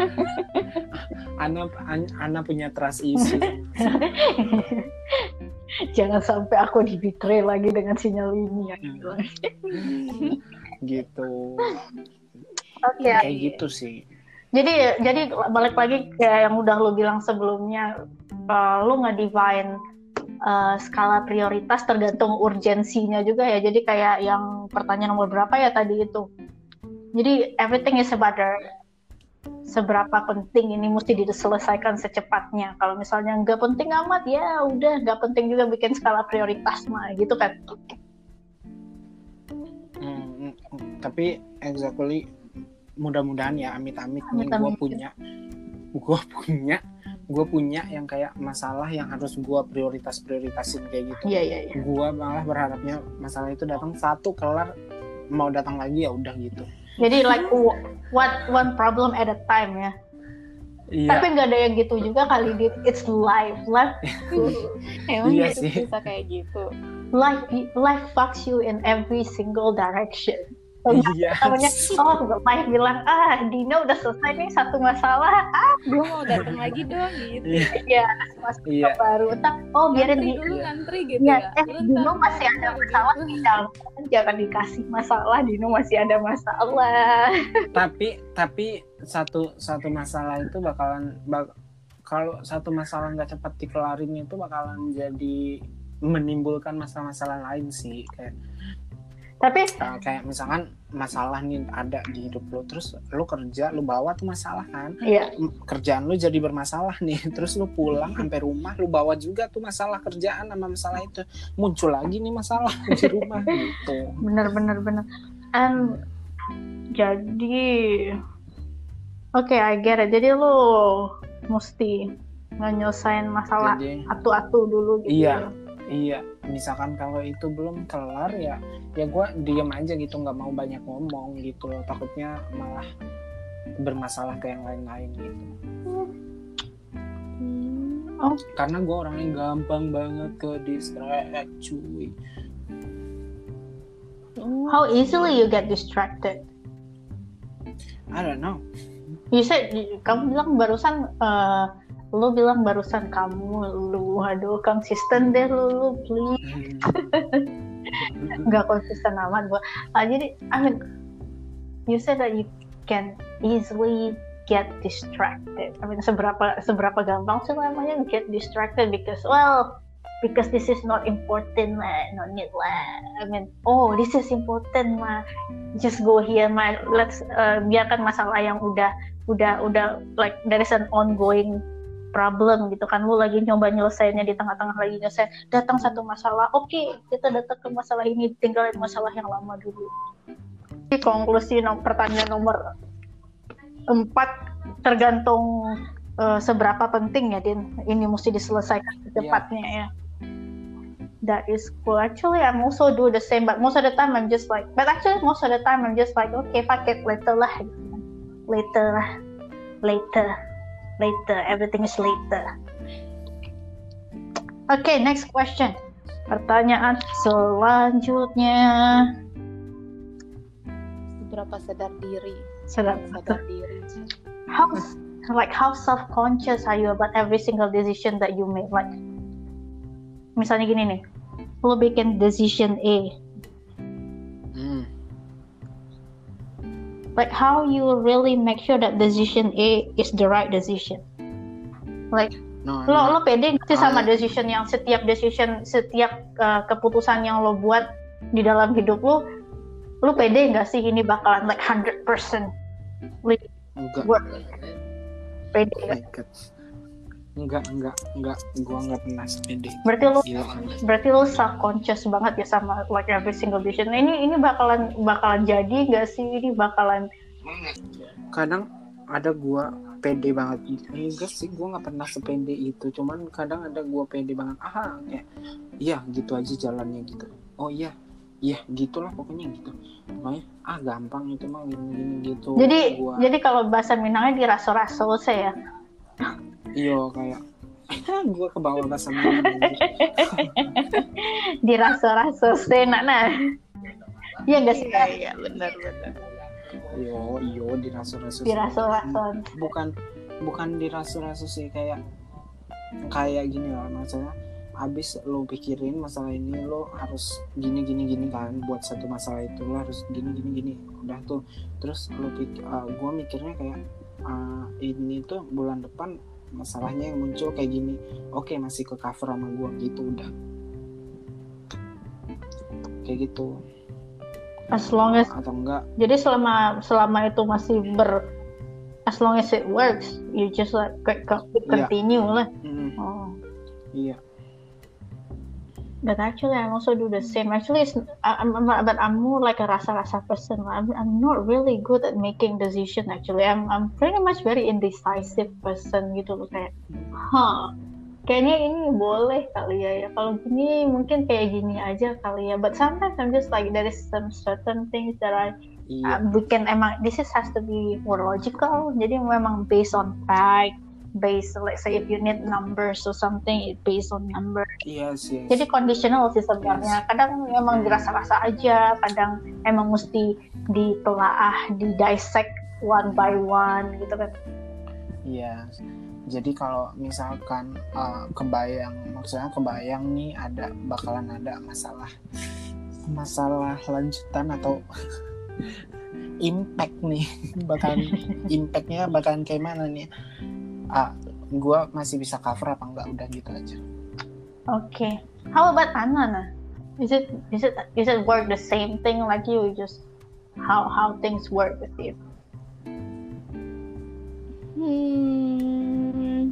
Ana An- Ana punya trust issue. Jangan sampai aku di betray lagi dengan sinyal ini ya. Gitu. Oke. Kayak gitu sih. Jadi jadi balik lagi kayak yang udah lo bilang sebelumnya, uh, lo nge-define uh, skala prioritas tergantung urgensinya juga ya. Jadi kayak yang pertanyaan nomor berapa ya tadi itu. Jadi everything is about the, seberapa penting ini mesti diselesaikan secepatnya. Kalau misalnya nggak penting amat ya udah nggak penting juga bikin skala prioritas mah gitu kan. Hmm, hmm, tapi exactly mudah-mudahan ya amit-amit nih Amit-amit. gue punya gue punya gue punya yang kayak masalah yang harus gue prioritas prioritasin kayak gitu. Iya iya iya. Gue malah berharapnya masalah itu datang satu kelar, mau datang lagi ya udah gitu. Jadi like what one problem at a time ya. Iya. Tapi nggak ada yang gitu juga kali, Dit. It's life, life, Emang Iya gitu sih. bisa kayak gitu. life, life fucks you in every single direction. Iya. Namanya, oh, life bilang, ah, Dino udah selesai nih satu masalah, ah, Gue mau datang lagi dong gitu. Iya. ya masuk Iya. ke baru, tak, oh biarin Ngantri di, dulu Iya. ngantri gitu ya, ya. eh, Lu Dino ntar masih ada ngantri masalah gitu. di dalam, jangan dikasih masalah, Dino masih ada masalah. Tapi tapi satu satu masalah itu bakalan bak, kalau satu masalah nggak cepat dikelarin itu bakalan jadi menimbulkan masalah-masalah lain sih, kayak Tapi, uh, kayak misalkan masalah nih ada di hidup lo, terus lo kerja lo bawa tuh masalah kan, iya, M- kerjaan lo jadi bermasalah nih, terus lo pulang sampai rumah lo bawa juga tuh masalah kerjaan sama masalah itu, muncul lagi nih masalah di rumah gitu. bener-bener bener. And jadi, oke, I get it. Jadi lo mesti nyelesain masalah Jadi atu-atu dulu gitu. Iya. iya, misalkan kalau itu belum kelar ya ya gue diem aja gitu, nggak mau banyak ngomong gitu loh, takutnya malah bermasalah ke yang lain-lain gitu. Oh. Karena gue orangnya gampang banget ke distract cuy. How easily you get distracted? I don't know. You said, kamu bilang barusan, uh, lu bilang barusan kamu, lu, aduh, konsisten deh lu, lu please. Nggak konsisten amat gua. Uh, jadi, I mean, you said that you can easily get distracted. I mean, seberapa seberapa gampang sih namanya get distracted because, well, because this is not important lah, no need lah. I mean, oh, this is important mah, just go here mah. Let's uh, biarkan masalah yang udah udah udah like there is an ongoing problem gitu kan, lu lagi nyoba nyelesainnya, di tengah-tengah lagi nyelesain datang satu masalah, oke okay, kita datang ke masalah ini, tinggalin masalah yang lama dulu. Jadi konklusi nom- pertanyaan nomor empat, tergantung uh, seberapa penting ya Din, ini mesti diselesaikan secepatnya yeah. ya. That is cool. Actually, I'm also do the same, but most of the time I'm just like, but actually most of the time I'm just like, okay, fuck it, later lah, later lah, later, later, everything is later. Okay, next question. Pertanyaan selanjutnya. Seberapa sadar diri? Sadar, sadar diri. How, like, how self-conscious are you about every single decision that you make? Like, misalnya gini nih, lo bikin decision A, hmm. like how you really make sure that decision A is the right decision? Like, no, lo lo pede nggak sih sama I... decision yang setiap decision setiap uh, keputusan yang lo buat di dalam hidup lo, lo pede nggak sih ini bakalan like one hundred percent like work? Pede nggak? Enggak, enggak, enggak, gua enggak pernah sepede. Berarti lu, Gila. berarti lu self conscious banget ya sama like every single decision. Ini ini bakalan bakalan jadi nggak sih? Ini bakalan. Kadang ada gua pede banget. Enggak sih, gua nggak pernah sepede itu. Cuman kadang ada gua pede banget. Ah, kayak, iya gitu aja jalannya gitu. Oh iya, iya gitulah pokoknya gitu. Pokoknya ah gampang itu mah gini-gini gitu. Jadi gua... jadi kalau bahasa Minangnya diraso-raso saya. Iya kayak gue ke bawah bahasa Minang diraso-raso sena nah. Iya nggak sih? Iya iya benar benar. Yo yo diraso-raso. Diraso-raso. Bukan bukan diraso-raso sih, kayak kayak gini lah maksudnya. Abis lo pikirin masalah ini, lo harus gini gini gini kan, buat satu masalah itu lo harus gini gini gini. Udah tuh, terus lo pikir, uh, gue mikirnya kayak uh, ini tuh bulan depan masalahnya yang muncul kayak gini, oke masih ke cover sama gue gitu, udah kayak gitu. As long as atau enggak, jadi selama selama itu masih ber as long as it works, you just like continue yeah. lah. Mm-hmm. Oh. Iya. But actually, I also do the same. Actually, it's, I'm, I'm, but I'm more like a rasa-rasa person. I'm, I'm not really good at making decision. Actually, I'm, I'm pretty much very indecisive person gitu loh, kayak, huh, kayaknya ini boleh kali ya. Ya kalau gini mungkin kayak gini aja kali ya. But sometimes I'm just like there is some certain things that I iya. uh, bukan emang this is has to be more logical. Jadi memang based on fact. Based, let's say if you need numbers or something, it based on number. Yes, yes. Jadi conditional sih sebenarnya. Yes. Kadang emang dirasa-rasa aja, kadang emang mesti ditelaah, di dissect one by one gitu kan. Yes. Jadi kalau misalkan uh, kebayang, maksudnya kebayang nih ada bakalan ada masalah, masalah lanjutan atau impact nih, bakalan impactnya bakalan kayak mana nih? Ah, gue masih bisa cover apa enggak, udah gitu aja. Oke. Okay. How about Anna? Nah? Is it is it is it work the same thing like you? Just how how things work with you? Hmm.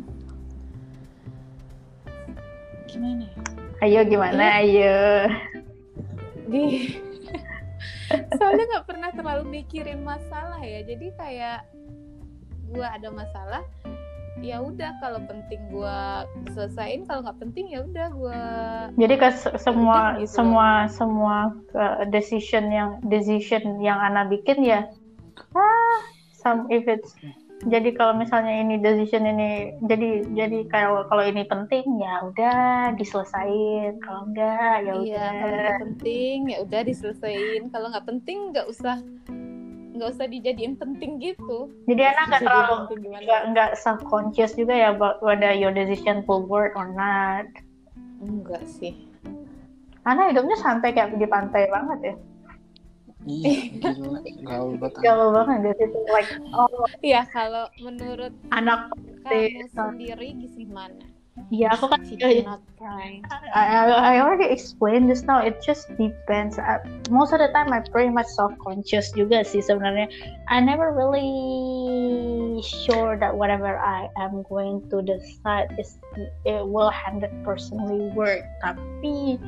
Gimana ya? Ayo gimana? Ayo. Di. Soalnya nggak pernah terlalu mikirin masalah ya. Jadi kayak gue ada masalah, ya udah kalau penting gue selesain, kalau nggak penting ya udah gue. Jadi ke semua gitu semua loh. semua uh, decision yang decision yang Ana bikin ya, ah, some if it's jadi kalau misalnya ini decision ini jadi jadi kalau kalau ini penting ya udah diselesain, kalau enggak ya udah. Iya, kalau nggak penting ya udah diselesain, kalau nggak penting nggak usah nggak usah dijadiin penting gitu. Jadi anak nggak terlalu nggak nggak self conscious juga ya about whether your decision will work or not. Enggak sih. Anak hidupnya santai kayak di pantai banget ya. Iya, gila, gaul banget. Gaul banget gitu, like oh. Iya, kalau menurut anak kamu sendiri gimana? Ya aku kan She cannot cry. I, I I already explained just now. It just depends. Uh, most of the time, I pretty much self-conscious juga sih sebenarnya. I never really sure that whatever I am going to decide is it will one hundred percent work. Tapi,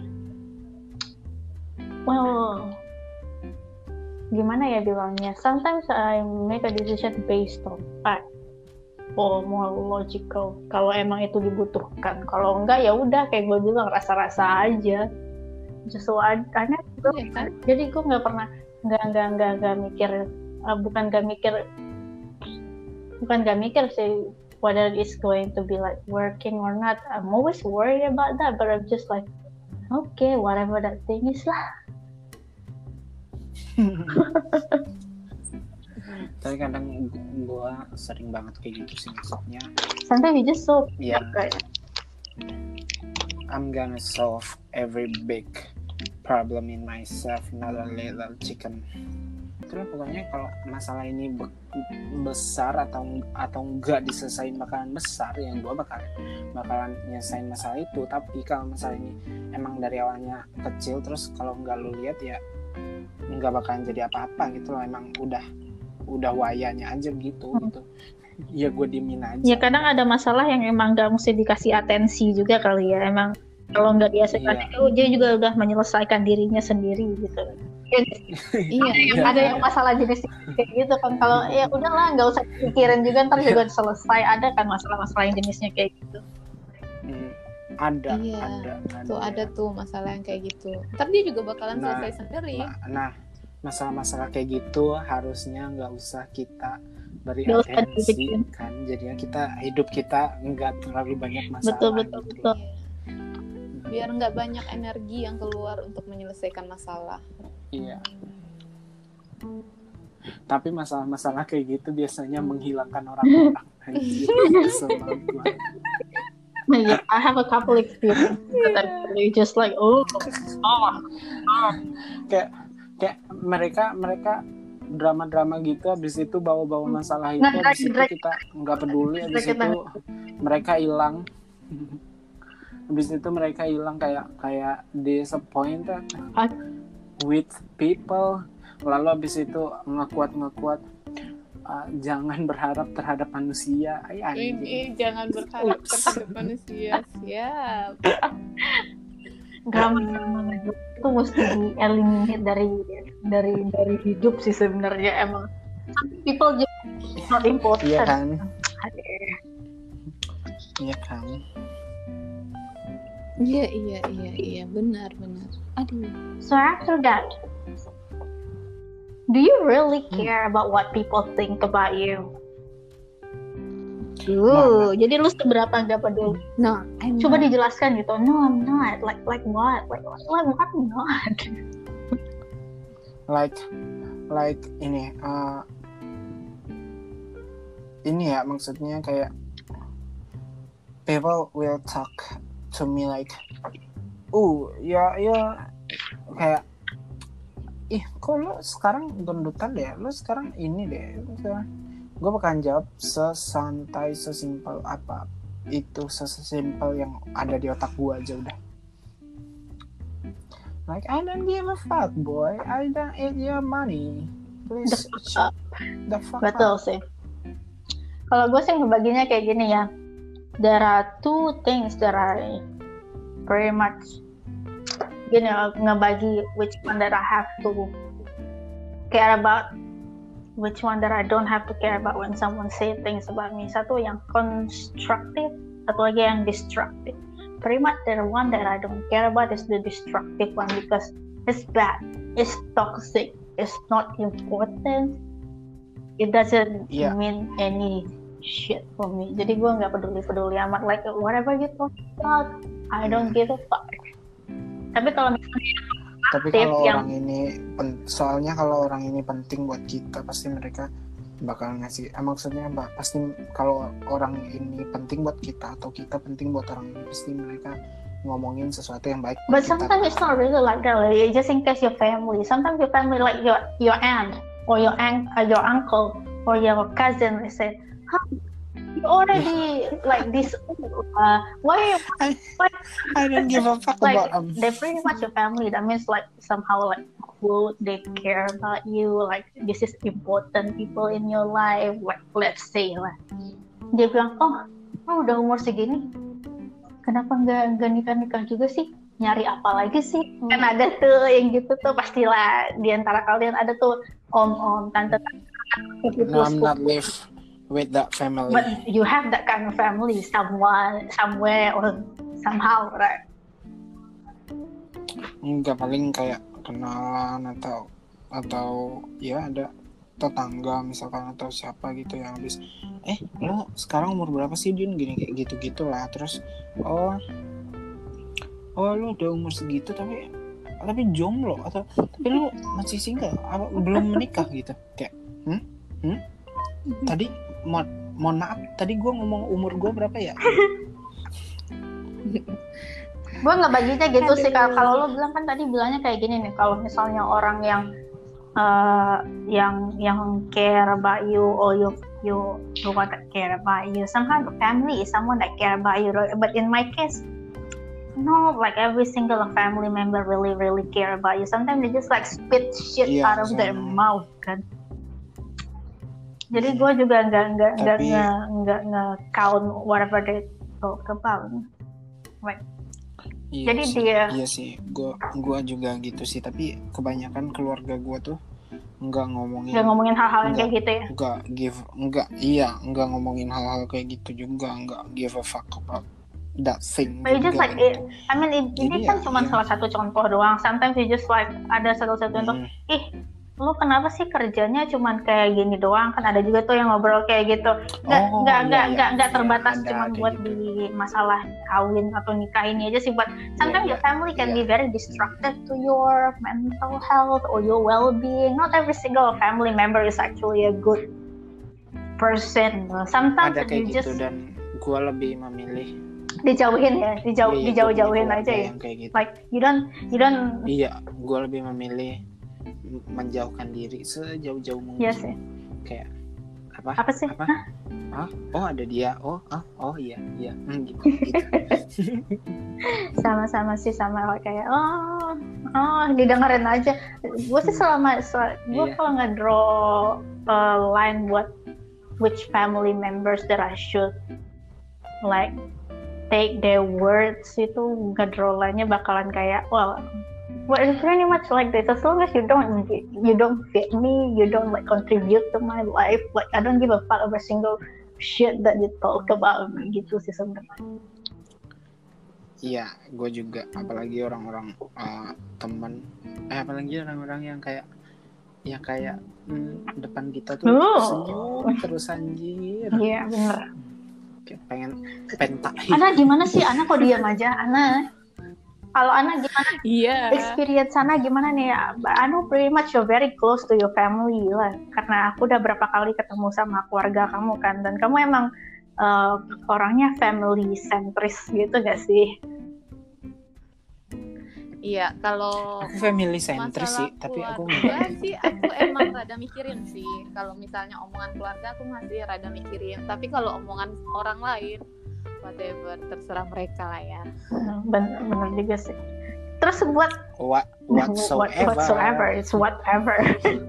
well, gimana ya bilangnya? Sometimes I make a decision based on fact. Oh, more logical kalau emang itu dibutuhkan. Kalau enggak ya udah kayak gue bilang rasa-rasa aja. Just so I, I never, Iya kan? jadi gue nggak pernah nggak nggak nggak nggak mikir uh, bukan nggak mikir bukan nggak mikir sih whether it's going to be like working or not. I'm always worried about that, but I'm just like okay, whatever that thing is lah. Tapi kadang gue sering banget kayak gitu sih, maksudnya Sometimes you just so ya right. I'm gonna solve every big problem in myself, not a little chicken. Terus pokoknya kalau masalah ini be- besar atau atau enggak diselesain bakalan besar, yang gue bakal bakalan nyelesain masalah itu. Tapi kalau masalah ini emang dari awalnya kecil, terus kalau enggak lu lihat ya enggak bakalan jadi apa-apa gitu loh. Emang udah udah wayanya aja gitu hmm. gitu. Ya gue diemin aja. Ya kadang ada masalah yang emang gak mesti dikasih atensi juga kali ya. Emang kalau nggak dia sekali Iya. itu dia juga udah menyelesaikan dirinya sendiri gitu. Iya, Yang ada yang masalah jenis kayak gitu kan. Kalau ya udahlah nggak usah pikirin juga, ntar juga selesai. Ada kan masalah-masalah yang jenisnya kayak gitu. Hmm, ada, Iya, ada, ada. tuh ada tuh masalah yang kayak gitu. Ntar dia juga bakalan Nah, selesai sendiri. Nah, nah, masalah-masalah kayak gitu harusnya nggak usah kita beri Nggak usah atensi dipikirin. kan. Jadinya kita hidup kita nggak terlalu banyak masalah. Betul betul gitu. betul. Biar nggak banyak energi yang keluar untuk menyelesaikan masalah. Iya. Tapi masalah-masalah kayak gitu biasanya menghilangkan orang-orang. Anjir, kesel banget gua. Nah, yeah, I have a couple experience that I'm really just like oh, oh, oh. Kayak kayak mereka mereka drama-drama gitu, habis itu bawa-bawa masalah itu, Nah, habis itu drag- kita nggak peduli, habis drag- itu mereka hilang. Habis itu mereka hilang kayak kayak disappointed Ah. with people. Lalu habis itu ngekuat-ngekuat uh, jangan berharap terhadap manusia. Ay, anjing. Ini jangan berharap terhadap manusia. Siap. Drama itu mesti di-eliminate dari dari dari hidup sih sebenarnya. Emang people just not important. Iya kan? Aduh. Iya kan? Iya, iya, iya, iya, benar, benar. Aduh. So after that, do you really care about what people think about you? Uh, jadi lu seberapa nggak peduli? No, I'm Coba not. dijelaskan gitu. No, I'm not. Like like what? Like like what? I'm not. Like like ini uh, ini ya maksudnya kayak people will talk to me like uh ya ya kayak ih kok lo sekarang gendutan deh, lo sekarang ini deh, gue bakalan jawab sesantai sesimpel apa itu, sesimpel yang ada di otak gue aja udah. Like I don't give a fuck boy, I don't eat your money, please The fuck shut the fuck Betul up. sih. Kalau gue sih ngebaginya kayak gini ya. There are two things that I pretty much gini ngebagi which one that I have to care about, which one that I don't have to care about when someone say things about me. Satu yang constructive, satu lagi yang destructive. Pretty much the one that I don't care about is the destructive one because it's bad, it's toxic, it's not important, it doesn't Yeah. mean any shit for me. Jadi gue nggak peduli-peduli amat, like whatever you talk about, I don't give a fuck. Tapi kalau misalnya Tapi Tip kalau yang- orang ini pen- soalnya kalau orang ini penting buat kita, pasti mereka bakal ngasih eh, maksudnya mbak pasti kalau orang ini penting buat kita atau kita penting buat orang ini, pasti mereka ngomongin sesuatu yang baik buat But kita. sometimes it's not really like that. Like, just in case your family. Sometimes your family, like your your aunt or your aunt, uh, your uncle or your cousin, they say, "Huh, You already like this. Uh, why? I, Why? I don't give a fuck Like about them. they're pretty much your family. That means like somehow like would they care about you? Like this is important people in your life. Like let's say lah. Dia bilang, oh, oh udah umur segini, kenapa nggak nggak nikah nikah juga sih? Nyari apa lagi sih? Hmm. Kan ada tuh yang gitu tuh pastilah di antara kalian ada tuh om-om, tante-tante. No, I'm not live with that family. But you have that kind of family, someone, somewhere, or somehow, right? Enggak, paling kayak kenalan atau atau ya ada tetangga misalkan atau siapa gitu yang habis eh lo sekarang umur berapa sih Din gini kayak gitu gitulah terus oh oh lu udah umur segitu tapi tapi jomblo atau tapi lu masih single apa belum menikah gitu kayak hmm hmm tadi mo- mohon maaf tadi gue ngomong umur gue berapa ya? Gue nggak baginya gitu Aduh. sih kalau lu bilang kan tadi bilangnya kayak gini nih kalau misalnya orang yang uh, yang yang care about you or you you you want to care about you somehow the family is someone that care about you right? But in my case no, like every single family member really, really care about you. Sometimes they just like spit shit yeah, out of so... their mouth, kan. Jadi gue juga nggak nggak nggak nggak nggak count whatever they talk about. Right. Iya Jadi sih, dia. Iya sih, gue gue juga gitu sih. Tapi kebanyakan keluarga gue tuh nggak ngomongin. Nggak ngomongin hal-hal yang kayak gitu ya. Nggak give, nggak iya nggak ngomongin hal-hal kayak gitu juga. Nggak give a fuck about that thing. But just like it, I mean it, ini kan ya, cuma ya. salah satu contoh doang. Sometimes you just like ada satu-satu contoh. Hmm. Ih, lu kenapa sih kerjanya cuma kayak gini doang? Kan ada juga tuh yang ngobrol kayak gitu. Nggak oh, nggak iya, nggak iya, nggak nggak iya, terbatas ada, cuma buat gitu. Di masalah kawin atau nikah ini aja sih. But sometimes yeah, your family can yeah. be very destructive to your mental health or your well-being. Not every single family member is actually a good person. Sometimes ada kayak you gitu just dan gue lebih memilih dijauhin ya, dijauh, iya, dijauh-jauhin aja ya. Gitu. Like you don't, you don't. Iya, gue lebih memilih menjauhkan diri sejauh-jauh mungkin. Iya sih. Kayak apa? Apa sih? Apa? Ah, oh ada dia. Oh, ah, oh iya, iya. Hmm, gitu. gitu. Sama-sama sih sama kayak oh, oh didengerin aja. Gue sih selama, selama gue yeah. kalau nggak draw a line buat which family members that I should like take their words itu ngedrolannya bakalan kayak well, well it's pretty much like this as long as you don't you don't fit me you don't like contribute to my life like I don't give a fuck about single shit that you talk about gitu sih sebenarnya. Iya, gue juga apalagi orang-orang uh, teman eh apalagi orang-orang yang kayak yang kayak hmm, depan kita tuh oh. senyum terus anjir. Iya bener. Pengen pentahin. Ana gimana sih? Ana kok diam aja? Ana, kalau Ana gimana? Iya. Yeah. Experience Ana gimana nih? Anu pretty much you're very close to your family lah. Karena aku udah berapa kali ketemu sama keluarga kamu kan, dan kamu emang uh, orangnya family centris gitu gak sih? Iya, kalau aku family centris sih, tapi aku enggak sih, aku emang rada mikirin sih. Kalau misalnya omongan keluarga aku masih rada mikirin, tapi kalau omongan orang lain whatever, terserah mereka lah ya. Bener, bener juga sih. Terus buat what whatsoever, whatsoever it's whatever.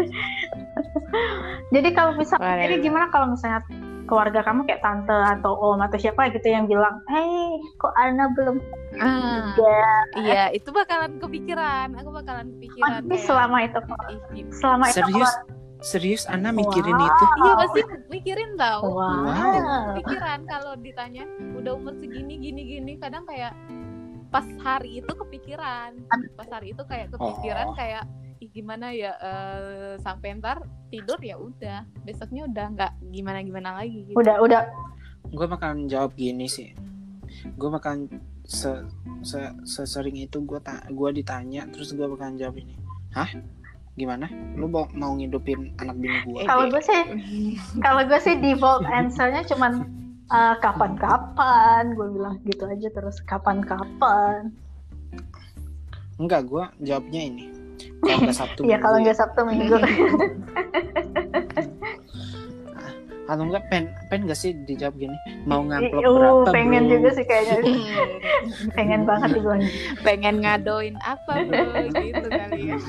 Jadi kalau misalnya, jadi gimana kalau misalnya keluarga kamu kayak tante atau om atau siapa gitu yang bilang, hey kok Ana belum ah, juga? Iya, itu bakalan kepikiran. Aku bakalan kepikiran. Tapi selama itu, selama itu serius, serius Ana mikirin wow. itu? Iya pasti mikirin tau. Wow. Kepikiran kalau ditanya udah umur segini gini gini, kadang kayak pas hari itu kepikiran, pas hari itu kayak kepikiran oh. kayak ih gimana ya uh, sampai ntar tidur ya udah besoknya udah nggak gimana gimana lagi gitu. udah udah gue bakalan jawab gini sih, gue bakalan se, se sesering itu gue ta- gue ditanya terus gue bakalan jawab ini, hah gimana lu mau, mau ngidupin anak bini gue? Kalau gue sih kalau gue sih default answernya cuman uh, kapan-kapan, gue bilang gitu aja terus kapan-kapan. Enggak, gue jawabnya ini kalau nggak Sabtu Iya kalau nggak Sabtu Minggu. Atau enggak pen pen gak sih dijawab gini, mau ngamplop Uh, berapa pengen bro? juga sih kayaknya. Pengen banget dibilang. Pengen ngadoin apa bro gitu kali ya.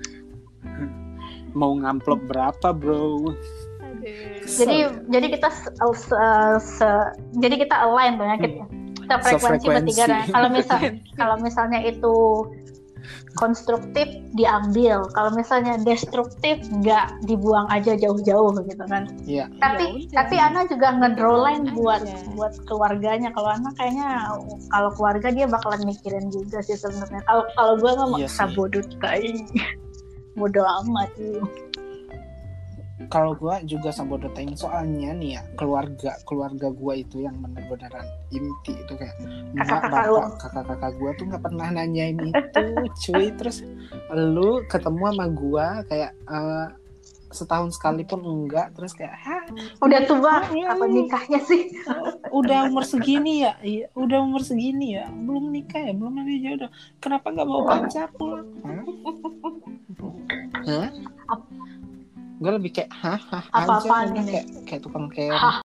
Mau ngamplop berapa bro? Aduh. Jadi jadi kita se, se- se- jadi kita align tuh ya kita, kita frekuensi bertiga. Nah, kalau misal kalau misalnya itu konstruktif diambil, kalau misalnya destruktif nggak, dibuang aja jauh-jauh gitu kan. Iya. Tapi Ya udah. tapi Ana juga ngedraw line Aja. buat buat keluarganya. Kalau Ana kayaknya kalau keluarga dia bakalan mikirin juga sih sebenarnya. Kalau kalau gue mah Iya maksa sih. bodoh tai. Bodoh amat sih. Kalau gua juga sabodotain, soalnya nih ya, keluarga keluarga gua itu yang bener-beneran inti itu kayak emak, Kakak-kakak bapak, kakak-kakak gua tuh nggak pernah nanyain itu, cuy. Terus lu ketemu sama gua kayak eh, setahun sekali pun enggak, terus kayak hah, Udah tua, Iya, apa iya. nikahnya sih? udah umur segini ya, iya, udah umur segini ya, belum nikah ya, belum ada jodoh, kenapa nggak bawa pacar pulang? Hah? Hah? Gue lebih kayak hah hah Apa-apaan aja, ini? kayak kayak tukang keong. Hah.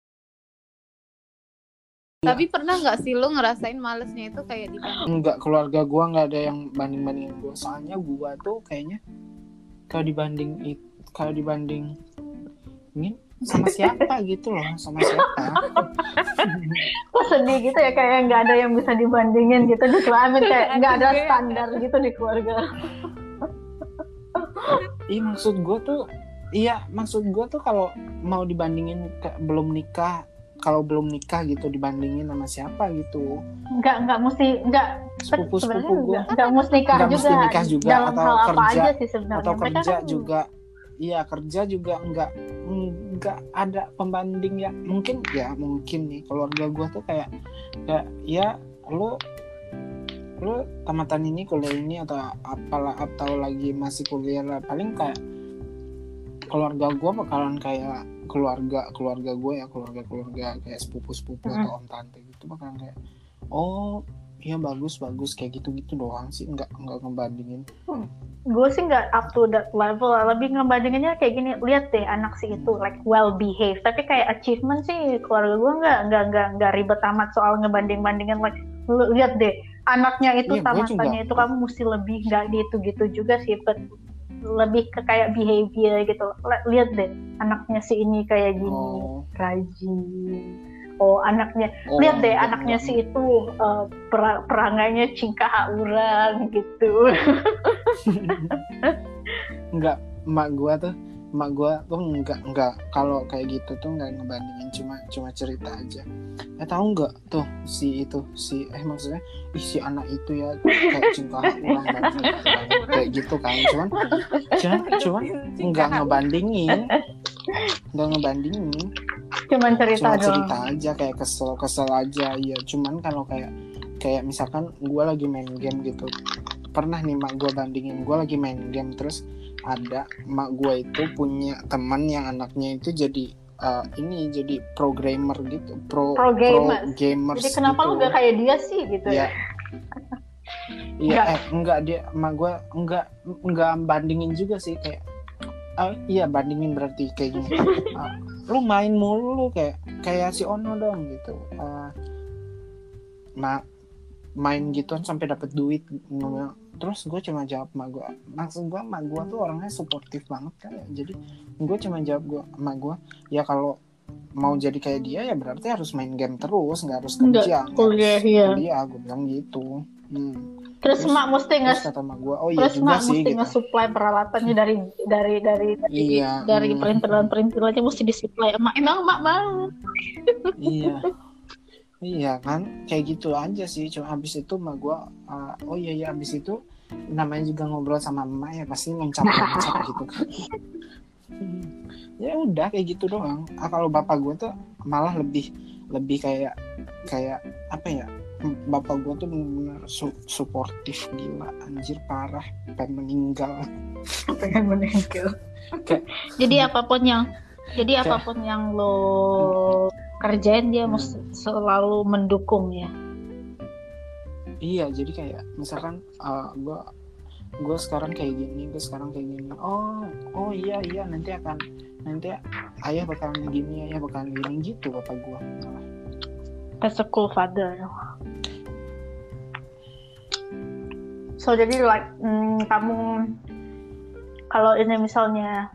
Tapi pernah nggak sih lu ngerasain malesnya itu kayak di Enggak, keluarga gua nggak ada yang banding-bandingin gua, soalnya gua tuh kayaknya kalau dibanding it, kalau dibanding ini sama siapa gitu loh, sama siapa. Kok sedih gitu ya, kayak nggak ada yang bisa dibandingin gitu di keluarga, kayak nggak ada Juga. standar gitu di keluarga. Iya maksud gua tuh, iya maksud gua tuh kalau mau dibandingin ke, belum nikah, kalau belum nikah gitu dibandingin sama siapa gitu. Nggak nggak mesti nggak Sepupu-sepupu sebenarnya gua nggak, nggak mesti nikah nggak juga, mesti nikah juga, dalam atau hal apa kerja, aja sih sebenarnya. atau Mereka kerja kan juga, iya kerja juga nggak nggak ada pembanding ya. Mungkin ya mungkin nih keluarga gue tuh kayak kayak ya lu lu tamatan ini kuliah ini atau apalah, atau lagi masih kuliah lah, paling kayak keluarga gue bakalan kayak keluarga keluarga gue ya, keluarga keluarga kayak sepupu sepupu Mm-hmm. atau om tante gitu bakalan kayak oh iya bagus bagus kayak gitu gitu doang sih, nggak nggak ngebandingin. gue sih nggak up to that level, lebih ngebandinginnya kayak gini, lihat deh anak si itu like well behaved, tapi kayak achievement sih keluarga gue nggak nggak nggak nggak ribet amat soal ngebanding bandingin, like lu lihat deh anaknya itu Iya, gua tamatannya juga. itu kamu mesti lebih, nggak gitu gitu juga sih, but lebih ke kayak behavior gitu. Lihat deh anaknya si ini kayak gini, Oh. rajin. Oh anaknya, Oh, lihat deh enggak, anaknya enggak, si itu uh, per- perangainya cingkah orang gitu. Enggak, emak gua tuh emak gua tuh enggak enggak kalau kayak gitu tuh enggak ngebandingin, cuma cuma cerita aja. Eh tahu enggak tuh si itu si eh maksudnya ih si anak itu ya kayak cingkah orang banget kayak gitu kan, cuman cuman cuman enggak ngebandingin enggak ngebandingin Cuman cerita cuma doang. cerita aja kayak kesel kesel aja ya. Cuman kalau kayak kayak misalkan gue lagi main game gitu, pernah nih mak gue bandingin, gue lagi main game terus ada mak gue itu punya teman yang anaknya itu jadi uh, ini jadi programmer gitu, pro Pro gamers. gamers Jadi kenapa gitu. lu gak kayak dia sih gitu ya? Ya iya eh enggak, dia mak gue enggak enggak bandingin juga sih, kayak uh, iya bandingin berarti kayak gini. Uh, lu main mulu lu kayak kayak si Ono dong gitu. Uh, ma main gituan sampai dapat duit. Terus gue cuma jawab mak gue, maksud gue mak gue tuh orangnya suportif banget kan ya. Jadi gue cuma jawab gue mak gue, ya kalau mau jadi kayak dia ya berarti harus main game terus, nggak harus kerja, nggak kuliah, harus iya. kuliah. Gue bilang gitu. Hmm. Terus, terus mak mesti nggak, kata mak gue, oh iya terus juga mak sih mesti gitu. nge-supply peralatannya dari dari dari dari, Iya, dari hmm. perintilan-perintilannya mesti disupply. Emak emang mak mau. Iya. Iya kan, kayak gitu aja sih. Cuma habis itu mak gue, uh, oh iya iya habis itu namanya juga ngobrol sama emak ya pasti ngoncap-ngoncap gitu kan. Ya udah kayak gitu doang. Ah, kalau bapak gue tuh malah lebih lebih kayak kayak apa ya? Bapak gue tuh benar-benar su- suportif gila, anjir parah, pengen meninggal. Pengen meninggal. Kayak, jadi apapun yang jadi kayak, apapun yang lo kerjain dia mesti selalu mendukung ya. Iya, jadi kayak misalkan uh, gue gue sekarang kayak gini, gue sekarang kayak gini. Oh, oh iya iya nanti akan nanti ayah bakalan gini, ayah bakalan gini gitu bapak gue. That's a cool father. So jadi like mm, kamu kalau ini misalnya,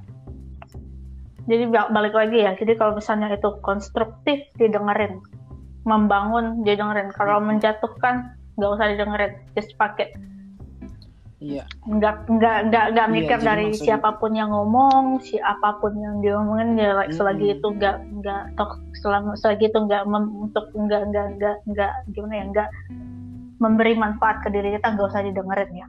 jadi balik lagi ya. Jadi kalau misalnya itu konstruktif didengerin, membangun didengerin. Kalau menjatuhkan nggak usah didengerin, just pakai. Iya. Nggak nggak nggak nggak mikir iya, dari maksud... siapapun yang ngomong, siapapun yang diomongin ya like, mm-hmm. selagi itu nggak nggak tok selama selagi itu nggak mem, untuk nggak nggak nggak nggak gimana ya nggak memberi manfaat ke diri kita, nggak usah didengerin ya.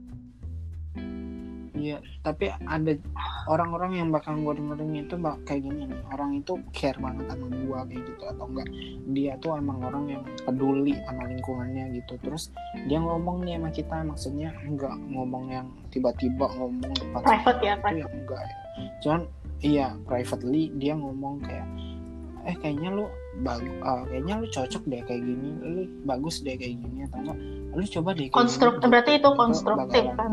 Iya, tapi ada orang-orang yang bakal gue dengerin itu bak kayak gini nih, orang itu care banget sama gue kayak gitu atau enggak, dia tuh emang orang yang peduli sama lingkungannya gitu, terus dia ngomong nih sama kita, maksudnya enggak ngomong yang tiba-tiba ngomong depan private ya, itu private. yang enggak ya, cuman iya privately dia ngomong kayak eh kayaknya lu bagus, uh, kayaknya lu cocok deh kayak gini, lu bagus deh kayak gini atau enggak, lu coba deh kayak konstruktif, berarti itu konstruktif kan.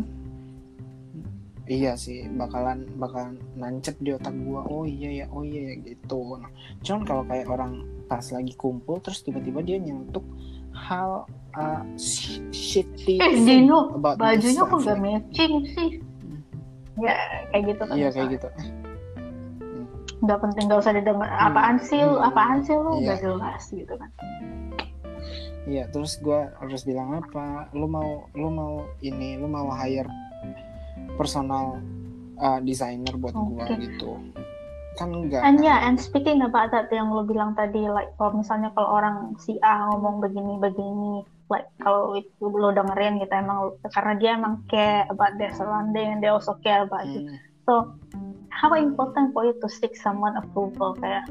Iya sih, bakalan bakalan nancep di otak gua. Oh iya ya, oh iya ya gitu. Nah, cuman kalau kayak orang pas lagi kumpul terus tiba-tiba dia nyentuh hal uh, shitty eh, Dino, bajunya kok gak matching sih? Hmm. Ya kayak gitu kan. Iya kayak gitu. Gak penting, gak usah didengar. Apaan hmm. sih lu? Apaan sih lu? Iya. Gak jelas gitu kan. Iya, terus gua harus bilang apa? Lu mau lu mau ini, lu mau hire personal uh, designer buat okay. gua gitu kan enggak. And yeah, and speaking about that yang lo bilang tadi, like kalau misalnya kalau orang si A ngomong begini begini, like kalau itu lo dengerin gitu emang karena dia emang care about their surrounding and they also care about hmm. you. So how important for you to seek someone approval, kayak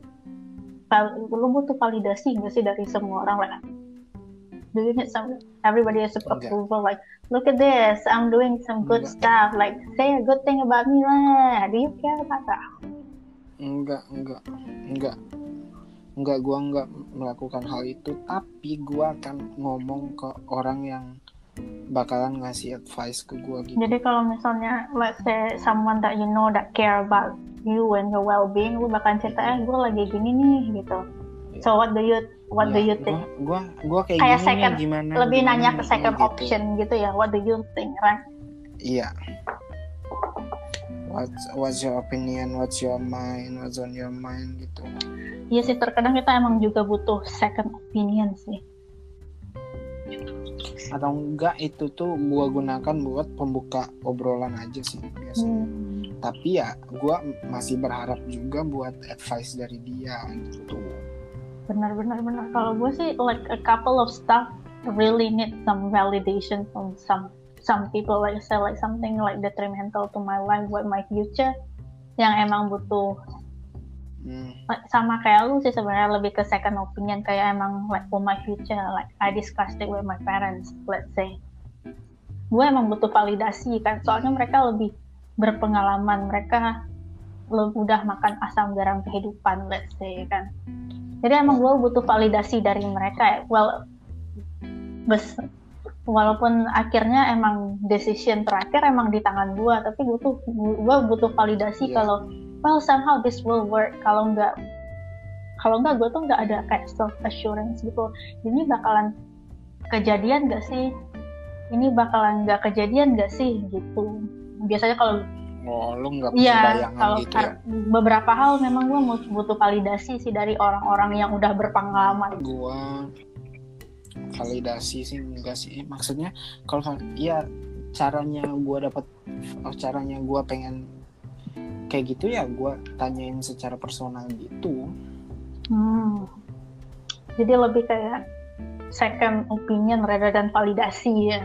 lo butuh validasi nggak sih dari semua orang, like do you need some everybody has approval like look at this, I'm doing some good enggak. stuff, like say a good thing about me lah. Do you care about that? Enggak, enggak, enggak, enggak. Gua enggak melakukan hal itu, tapi gua akan ngomong ke orang yang bakalan ngasih advice ke gua gitu. Jadi kalau misalnya let's say someone that you know that care about you and your well-being, lu bakalan cerita eh gue lagi gini nih gitu. Yeah. So what do you What ya, do you think? Gua, gua, gua kayak, kayak gini second, nih, gimana? Lebih gimana nanya nih, ke second gitu. option gitu ya. What do you think, right? Iya. What's, what's your opinion? What's your mind? What's on your mind gitu. Iya sih, terkadang kita emang juga butuh second opinion sih. Atau enggak itu tuh gua gunakan buat pembuka obrolan aja sih biasanya. Hmm. Tapi ya gua masih berharap juga buat advice dari dia gitu. Benar-benar benar. Kalau gue sih like a couple of stuff really need some validation from some some people, like say like something like detrimental to my life, with my future, yang emang butuh hmm. like, sama kayak lu sih sebenarnya, lebih ke second opinion, kayak emang like for my future, like I discussed it with my parents, let's say. Gue emang butuh validasi kan, soalnya mereka lebih berpengalaman, mereka lebih udah makan asam garam kehidupan, let's say kan. Jadi emang gue butuh validasi dari mereka. Well, bes, walaupun akhirnya emang decision terakhir emang di tangan gue, tapi gue tuh gue butuh validasi yeah. kalau well somehow this will work. Kalau nggak, kalau nggak gue tuh nggak ada kayak self assurance gitu. Ini bakalan kejadian nggak sih? Ini bakalan nggak kejadian nggak sih? Gitu. Biasanya kalau oh, lu nggak punya ya, bayangan kalau gitu ya? Beberapa hal memang gue butuh validasi sih dari orang-orang yang udah berpengalaman. Gue validasi sih enggak sih, maksudnya kalau ya caranya gue dapat, caranya gue pengen kayak gitu ya gue tanyain secara personal gitu. Hmm. Jadi lebih kayak second opinion rather than validasi ya.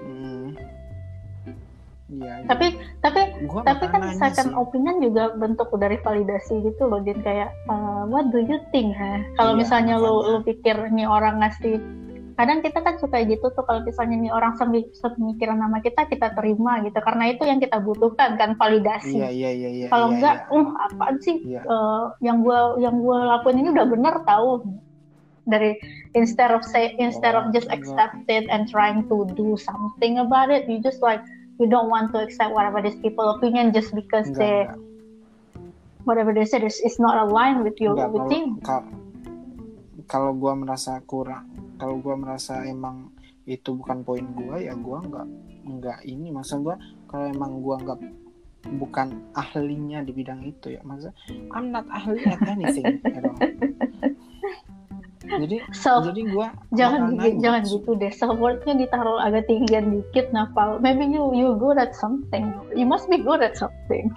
Ya, tapi gitu. tapi gua tapi kan second sih. opinion juga bentuk dari validasi gitu loh, Din, kayak uh, what do you think ha? Kalau iya, misalnya lu lu pikir nih orang ngasih, kadang kita kan suka gitu tuh, kalau misalnya nih orang sepemikiran sama kita, kita terima gitu, karena itu yang kita butuhkan kan, validasi. Iya iya iya. iya kalau iya, enggak, iya. uh apaan sih iya. uh, yang gua yang gua lakuin ini udah bener tahu. Dari instead of say instead oh, of just accept it and trying to do something about it, you just like you don't want to accept whatever these people opinion just because Enggak, they enggak. whatever they said is, is not aligned with you Enggak, with kalau you. ka- kalau gue merasa kurang, kalau gue merasa emang itu bukan poin gue, ya gue nggak nggak ini, maksud gue kalau emang gue nggak bukan ahlinya di bidang itu ya, maksudnya I'm not ahli at anything, you know. Jadi So, jadi gue jangan gi- jangan gitu deh, self worthnya ditaruh agak tinggian dikit, Napal. Maybe you you good at something, you must be good at something.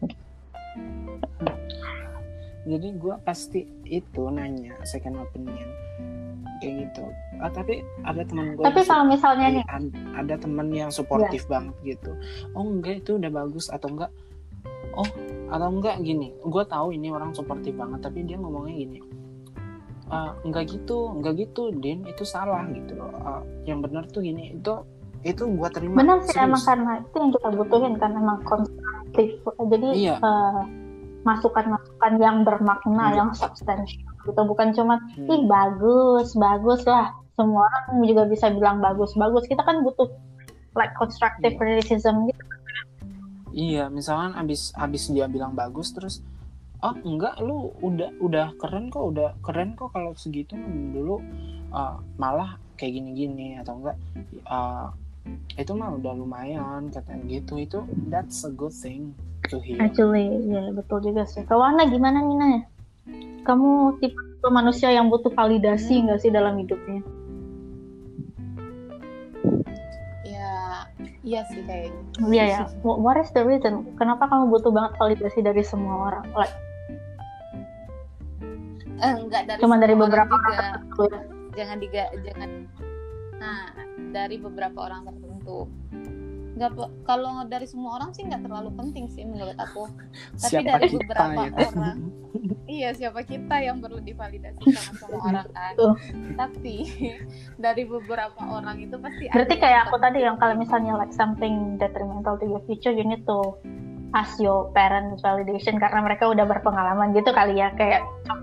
Jadi gue pasti itu nanya second opinion kayak gitu. Ah, tapi ada teman gue. Tapi kalau misalnya nih, ada teman yang suportif yeah. banget gitu. Oh enggak, itu udah bagus atau enggak? Oh atau enggak gini. Gue tahu ini orang suportif banget, tapi dia ngomongnya gini. Uh, enggak gitu, enggak gitu, Din, itu salah gitu loh. Uh, yang benar tuh gini, itu itu gue terima. Benar sih, serius. emang karena itu yang kita butuhin kan, emang konstruktif. Jadi iya. uh, masukan-masukan yang bermakna, hmm. yang substansial gitu, bukan cuma hmm. ih bagus, bagus lah. Semua orang juga bisa bilang bagus, bagus. Kita kan butuh like constructive yeah. criticism gitu. Iya, misalkan abis abis dia bilang bagus terus, oh enggak, lu udah udah keren kok, udah keren kok kalau segitu dulu uh, malah kayak gini-gini atau enggak uh, itu mah udah lumayan katanya gitu, itu that's a good thing to hear. Actually, ya yeah, betul juga sih. Kalau Ana gimana Nina? Kamu tipe manusia yang butuh validasi nggak hmm. sih dalam hidupnya? Ya, iya sih kayaknya. Iya ya. What is the reason? Kenapa kamu butuh banget validasi dari semua orang? Like, eh, enggak dari cuma dari beberapa orang juga. Ya. Jangan diga, jangan. Nah, dari beberapa orang tertentu. Nggak, kalau dari semua orang sih nggak terlalu penting sih menurut aku. Tapi siapa dari kita, beberapa ya? orang, iya siapa kita yang perlu divalidasi sama semua orang kan. Tapi dari beberapa orang itu pasti. Berarti kayak aku tadi yang kalau misalnya like something detrimental to your future, you need to ask your parents validation karena mereka udah berpengalaman gitu kali ya, kayak.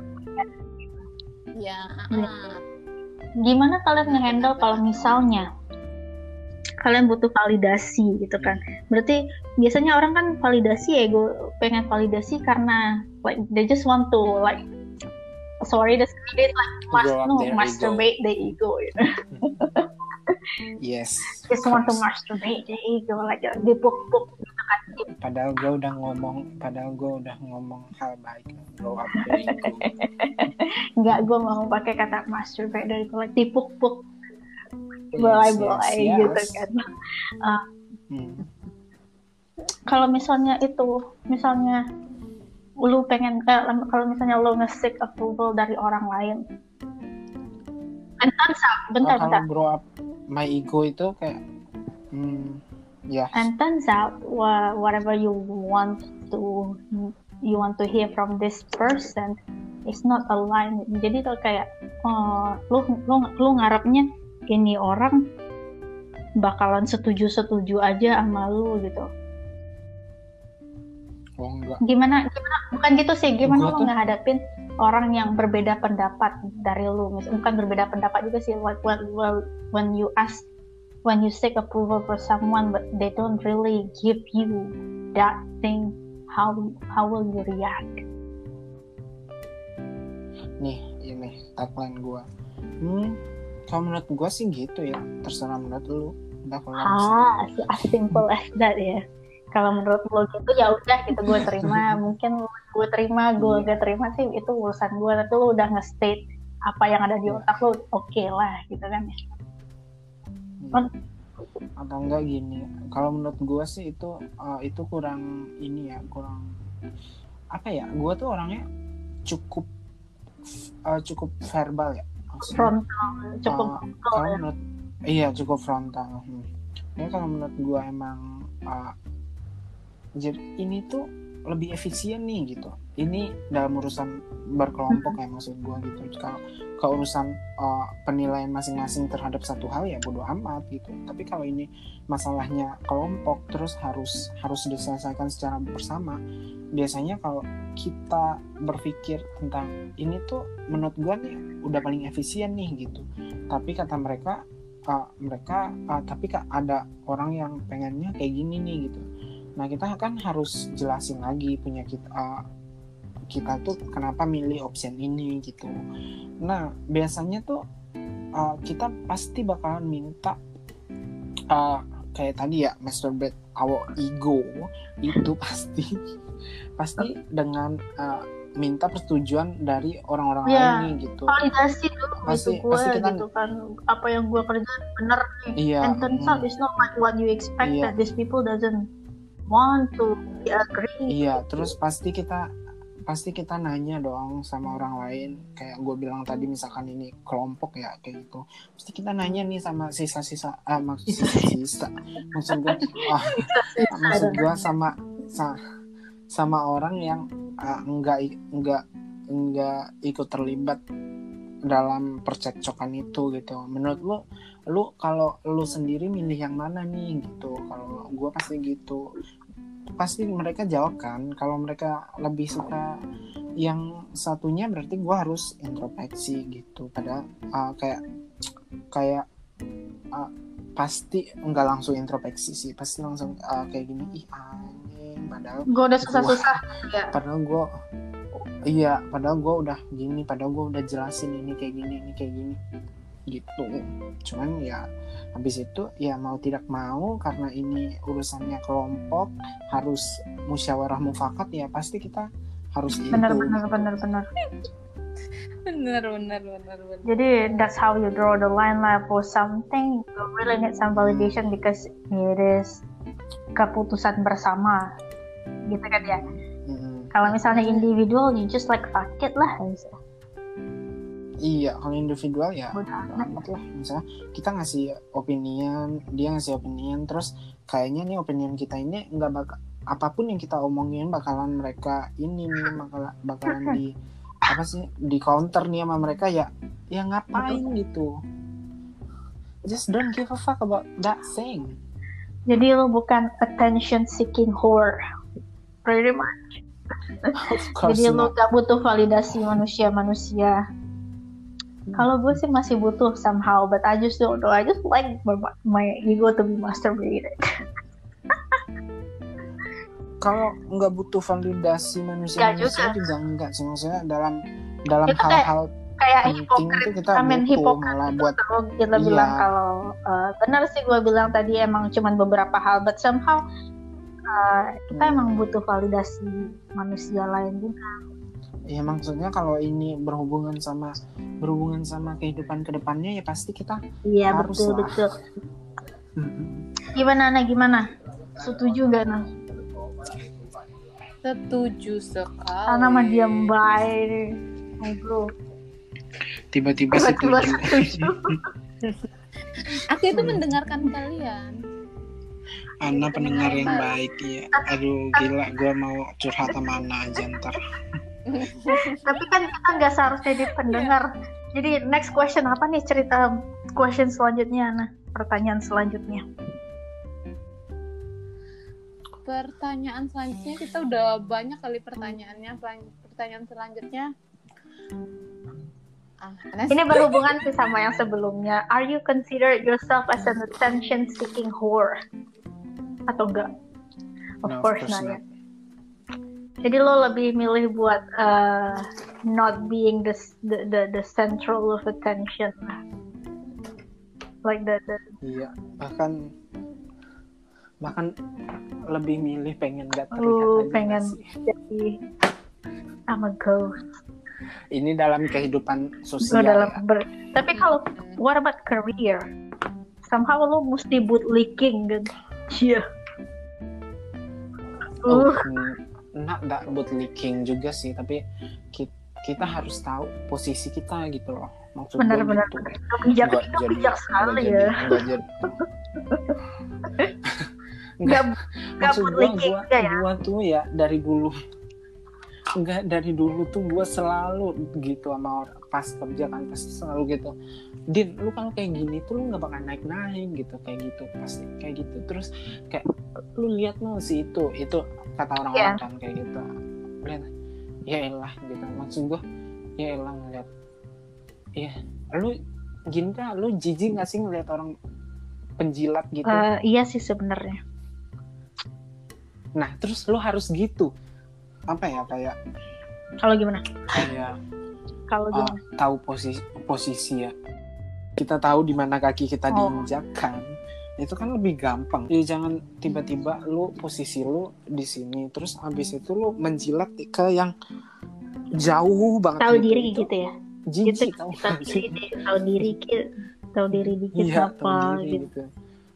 Ya. Uh. Gimana kalian nge-handle kalau misalnya kalian butuh validasi gitu kan? Berarti biasanya orang kan validasi, ego pengen validasi karena like they just want to like sorry the they like must no masturbate the ego, you know? Yes. Just want to masturbate the ego, like dipuk-puk gitu kan. Padahal gue udah ngomong, padahal gue udah ngomong hal baik, grow up the ego. Enggak, gue mau pakai kata masturbate dari like dipuk-puk. Belai-belai yes, yes, gitu yes. kan. Uh, hmm. Kalau misalnya itu, misalnya lu pengen, eh, kalau misalnya lu nge-seek approval dari orang lain, and turns out, bentar, oh, bentar. Kalau grow up my ego itu kayak, hmm, ya. Yeah. And turns out, wh- whatever you want to, you want to hear from this person is not aligned. Jadi tuh kayak, uh, lu, lu, lu ngarepnya ini orang bakalan setuju-setuju aja sama lu gitu. Oh enggak. Gimana, gimana, bukan gitu sih, gimana Gua lu ngehadapin orang yang berbeda pendapat dari lu, bukan berbeda pendapat juga sih, like when, when you ask, when you seek approval for someone but they don't really give you that thing, how how will you react? Nih, ini tagline gue. Hmm, kalau menurut gue sih gitu ya, terserah menurut lu. Udah kalau ah, as simple as that ya. Kalau menurut lo gitu ya udah gitu, gue terima. Mungkin gue terima, gue gak terima sih itu urusan gue. Tapi lo udah nge-state apa yang ada di otak lo, oke okay lah gitu kan ya. Hmm. Atau enggak gini, kalau menurut gue sih itu uh, itu kurang ini ya, kurang apa ya? Gue tuh orangnya cukup uh, cukup verbal ya. Maksudnya, frontal, cukup uh, kalau menurut iya cukup frontal. Hmm. Ya kalau menurut gue emang uh, jadi ini tuh lebih efisien nih gitu. Ini dalam urusan berkelompok ya, maksud gue gitu. Kalau ke urusan uh, penilaian masing-masing terhadap satu hal ya bodo amat gitu. Tapi kalau ini masalahnya kelompok terus harus harus diselesaikan secara bersama. Biasanya kalau kita berpikir tentang ini tuh menurut gue nih udah paling efisien nih gitu. Tapi kata mereka uh, mereka uh, tapi kak ada orang yang pengennya kayak gini nih gitu. Nah kita kan harus jelasin lagi punya kita uh, kita tuh kenapa milih option ini gitu. Nah biasanya tuh uh, kita pasti bakalan minta uh, kayak tadi ya masturbate our ego itu pasti pasti dengan uh, minta persetujuan dari orang-orang yeah. lain nih gitu. Validasi dulu pasti, gitu gue pasti kita, gitu kan apa yang gue kerjain bener nih. Iya, and turns out hmm. it's not like what you expect Iya. that these people doesn't want to agree. Iya, terus pasti kita pasti kita nanya dong sama orang lain kayak gue bilang tadi misalkan ini kelompok ya kayak gitu. Pasti kita nanya nih sama sisa-sisa ah maksud sisa-sisa maksud gue ah, maksud gue sama sa, sama orang yang uh, enggak enggak enggak ikut terlibat dalam percekcokan itu gitu. Menurut lu lu kalau lu sendiri milih yang mana nih gitu. Kalau gue pasti gitu. Pasti mereka jawab kan. Kalau mereka lebih suka yang satunya berarti gue harus introspeksi gitu. Padahal uh, kayak kayak uh, pasti enggak langsung introspeksi sih. Pasti langsung uh, kayak gini ih anjing padahal gue udah susah-susah ya. Padahal gue iya, padahal gue udah gini, padahal gue udah jelasin ini kayak gini, ini kayak gini gitu. Cuman ya habis itu ya mau tidak mau karena ini urusannya kelompok harus musyawarah mufakat ya pasti kita harus benar, itu. Benar benar benar benar benar benar benar. Jadi that's how you draw the line lah for something you really need some validation because it is keputusan bersama gitu kan ya. Mm-hmm. Kalau misalnya individual you just like fuck it lah. Iya, kalau individual ya Benar. amat lah. Misalnya kita ngasih opinion, dia ngasih opinion, terus kayaknya nih opinion kita ini nggak bakal apapun yang kita omongin bakalan mereka ini nih bakal bakalan di apa sih di counter nih sama mereka ya ya ngapain gitu. Just don't give a fuck about that thing. Jadi lo bukan attention seeking whore, pretty much. Jadi lo gak butuh validasi manusia-manusia. Kalau gue sih masih butuh somehow, but I just don't know. I just like my, my ego to be masturbated. Kalau nggak butuh validasi manusia-manusia juga. juga enggak sih, maksudnya dalam dalam itu hal-hal kayak penting hipokrit. itu kita I mean, butuh hipokrit malah buat kalau kita iya. bilang kalau uh, benar sih gue bilang tadi emang cuman beberapa hal, but somehow uh, kita hmm. emang butuh validasi manusia lain juga. Ya maksudnya kalau ini berhubungan sama berhubungan sama kehidupan kedepannya ya pasti kita iya, harus betul, lah. Betul Gimana Ana, gimana? Setuju gak Ana? Setuju sekali. Ana mah diam baik nih, bro. Tiba-tiba setuju. Aku itu mendengarkan kalian. Ana pendengar yang baik ya. Aduh gila, gue mau curhat sama Ana aja ntar. Tapi kan kita nggak seharusnya jadi pendengar. Jadi next question apa nih, cerita question selanjutnya Ana? Pertanyaan selanjutnya. Pertanyaan selanjutnya kita udah banyak kali pertanyaannya. Pertanyaan selanjutnya. Ah, ini berhubungan sih sama yang sebelumnya. Are you consider yourself as an attention seeking whore? Atau enggak? Of no, course, course not. Ya. Jadi lo lebih milih buat uh, not being the, the the the central of attention, like that. Iya, bahkan bahkan lebih milih pengen gak terlihat uh, aja pengen sih. Jadi I'm a ghost. Ini dalam kehidupan sosial. Dalam ya. ber... Tapi kalau what about career? Somehow lo mesti bootlicking kan? Iya. Yeah. Oh, uh. Not that bootlicking juga sih, tapi kita, kita harus tahu posisi kita gitu loh. Maksud benar-benar gitu. bijak itu bijak sekali ya. Enggak jadi. Enggak maksud gue, gue, ya? gue tuh ya dari dulu enggak dari dulu tuh gue selalu gitu sama orang pas kerja kan pasti selalu gitu. Din, lu kalau kayak gini tuh lu nggak bakal naik-naik gitu kayak gitu pasti kayak gitu terus kayak lu lihat no si itu itu kata orang-orang yeah. kan kayak gitu lihat ya elah gitu maksud gue ya elah ngeliat ya lu gini dah, lu jijik nggak sih ngeliat orang penjilat gitu? Uh, iya sih sebenarnya. Nah terus lu harus gitu, apa ya kayak Kalau gimana? kayak Kalau uh, gimana? tahu posisi posisi ya, kita tahu di mana kaki kita Oh. diinjak kan, itu kan lebih gampang. Jadi jangan tiba-tiba lu posisi lu di sini, terus abis itu lu menjilat ke yang jauh banget. Tahu gitu. diri Itu gitu ya. jijik Gitu, tau tahu gak sih? diri, tahu diri dikit, tahu diri dikit Iya, apa tahu diri gitu. gitu.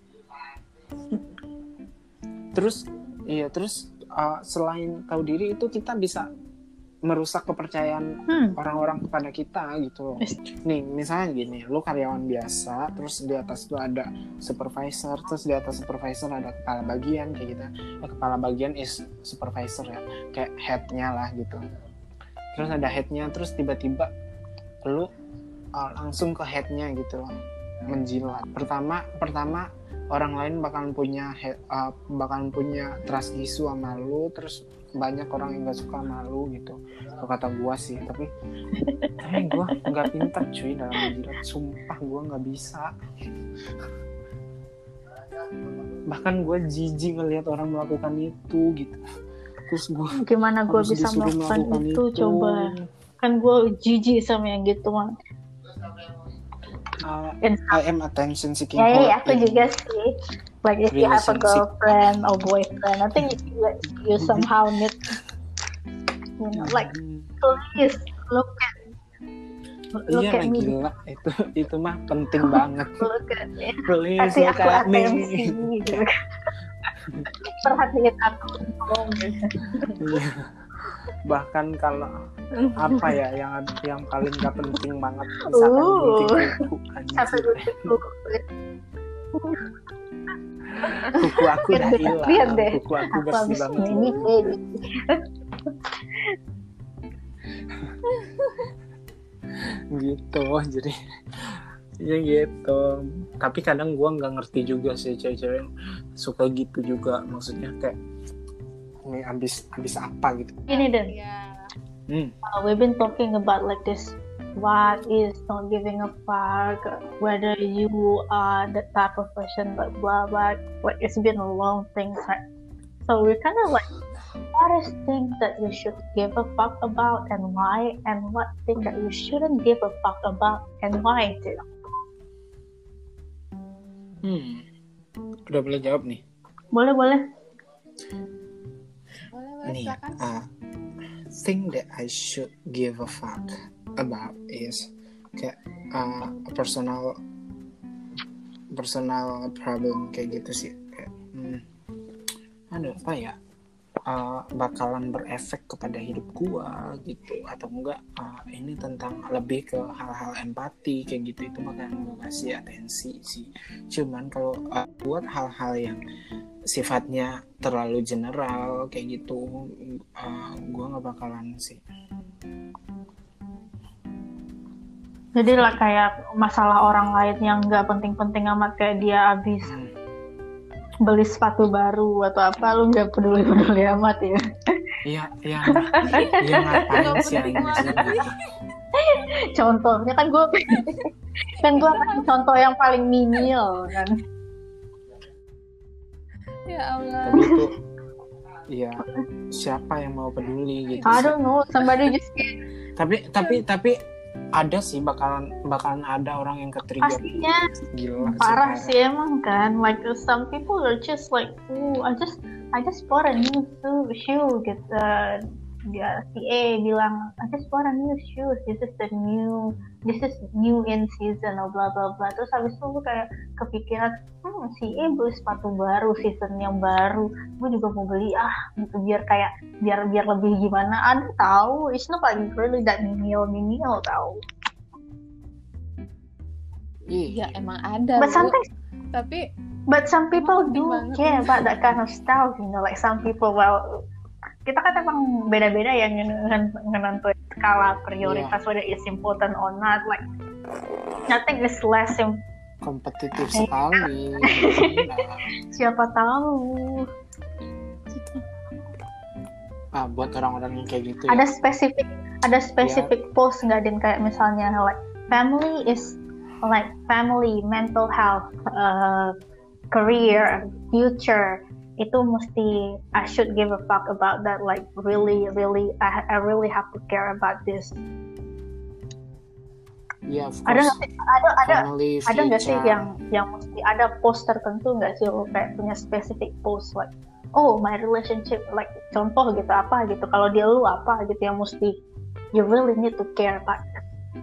Terus iya terus uh, selain tahu diri itu kita bisa merusak kepercayaan Hmm. orang-orang kepada kita gitu loh. Nih misalnya gini, lu karyawan biasa, terus di atas tuh ada supervisor, terus di atas supervisor ada kepala bagian kayak gitu. Ya, kepala bagian is supervisor ya, kayak headnya lah gitu. Terus ada headnya, terus tiba-tiba lu uh, langsung ke headnya gitu loh, menjilat. Pertama, pertama orang lain bakalan punya head, uh, bakalan punya trust issue sama lu, terus banyak orang yang gak suka sama lu gitu. Kalau kata gua sih, tapi tapi gua nggak pintar cuy dalam menjilat, sumpah gua nggak bisa. Bahkan gua jijik ngelihat orang melakukan itu gitu. Terus gua Gimana gue harus bisa disuruh melakukan melakukan itu, itu. coba. Kan gue jijik sama yang gitu mah. Uh, And- I am attention seeking. Ya, ya, whore aku in juga sih. Like if you have a relationship. girlfriend or boyfriend, I think you, you somehow need, you know, like please look at look Iya at lah me, gila, itu itu mah penting banget. look at me. Please Kasih look aku at me. atensi gitu. Perhatiin aku dong gitu. Iya. Bahkan kalau apa ya yang yang paling gak penting banget, misalkan Uh. gunting kuku, Satu anjir. dulu. Kuku aku udah Lihat hilang, deh. kuku aku Aku bersih habis banget. ini loh. baby. Gitu, jadi ya gitu. Tapi kadang gue nggak ngerti juga sih cewek-cewek suka gitu juga, maksudnya kayak ini abis abis apa gitu. Ini deh. Iya. Hmm. Uh, we've been talking about like this. What is not giving a fuck? Whether you are the type of person, like blah blah. Like it's been a long thing. Right? So we're kind of like, what is things that you should give a fuck about and why, and what thing that you shouldn't give a fuck about and why too. Hmm. Udah boleh jawab nih. Boleh boleh. Boleh, boleh, Nih, silakan. uh, thing that I should give a fuck about is kayak uh, personal personal problem kayak gitu sih. Kayak, hmm, aduh apa ya, uh, bakalan berefek kepada hidup gua gitu, atau enggak uh, ini tentang lebih ke hal-hal empati kayak gitu, itu bakalan gua kasih atensi sih. Cuman kalau uh, buat hal-hal yang sifatnya terlalu general kayak gitu, uh, gue nggak bakalan sih. Jadi lah kayak masalah orang lain yang nggak penting-penting amat, kayak dia habis Hmm. beli sepatu baru atau apa, lu nggak peduli-peduli amat ya. Iya, iya, iya ngapain sih anjir gitu. Contohnya kan gue kan gue kasih contoh yang paling minimal kan. Ya Allah. Tapi itu, ya siapa yang mau peduli gitu I sih. don't know, somebody just Tapi tapi tapi ada sih bakalan bakalan ada orang yang ketrigger. pastinya Gila parah sih. sih emang kan. Like some people are just like, oh I just I just bought a new shoe, shoe gitu. Dia si A bilang, I just bought a new shoes. This is the new, this is new in season, or blah blah blah. Terus habis itu gue kayak kepikiran, hmm, si A beli sepatu baru, season yang baru. Gue juga mau beli ah, gitu biar kayak biar biar lebih gimana. Ada tahu, it's not like really that minimal minimal tahu. Ya emang ada. But Bu. sometimes, Tapi but some people penting do banget. care about that kind of stuff, you know. Like some people, well, kita kan emang beda-beda yang menentukan skala prioritas, whether it's important or not. Like nothing is less im- Kompetitif sekali. siapa tahu Ah, buat orang-orang yang kayak gitu ya. ada spesifik ada spesifik post nggak, Din, kayak misalnya like family is like family, mental health, uh, career, future, itu mesti I should give a fuck about that. Like really, really, I, I really have to care about this. Yeah, of Ada course. nggak sih, ada ada Family, ada nggak sih future. yang yang mesti ada post tertentu nggak sih lo kayak punya specific post like oh my relationship like contoh gitu apa gitu kalau dia lu apa gitu yang mesti you really need to care about it.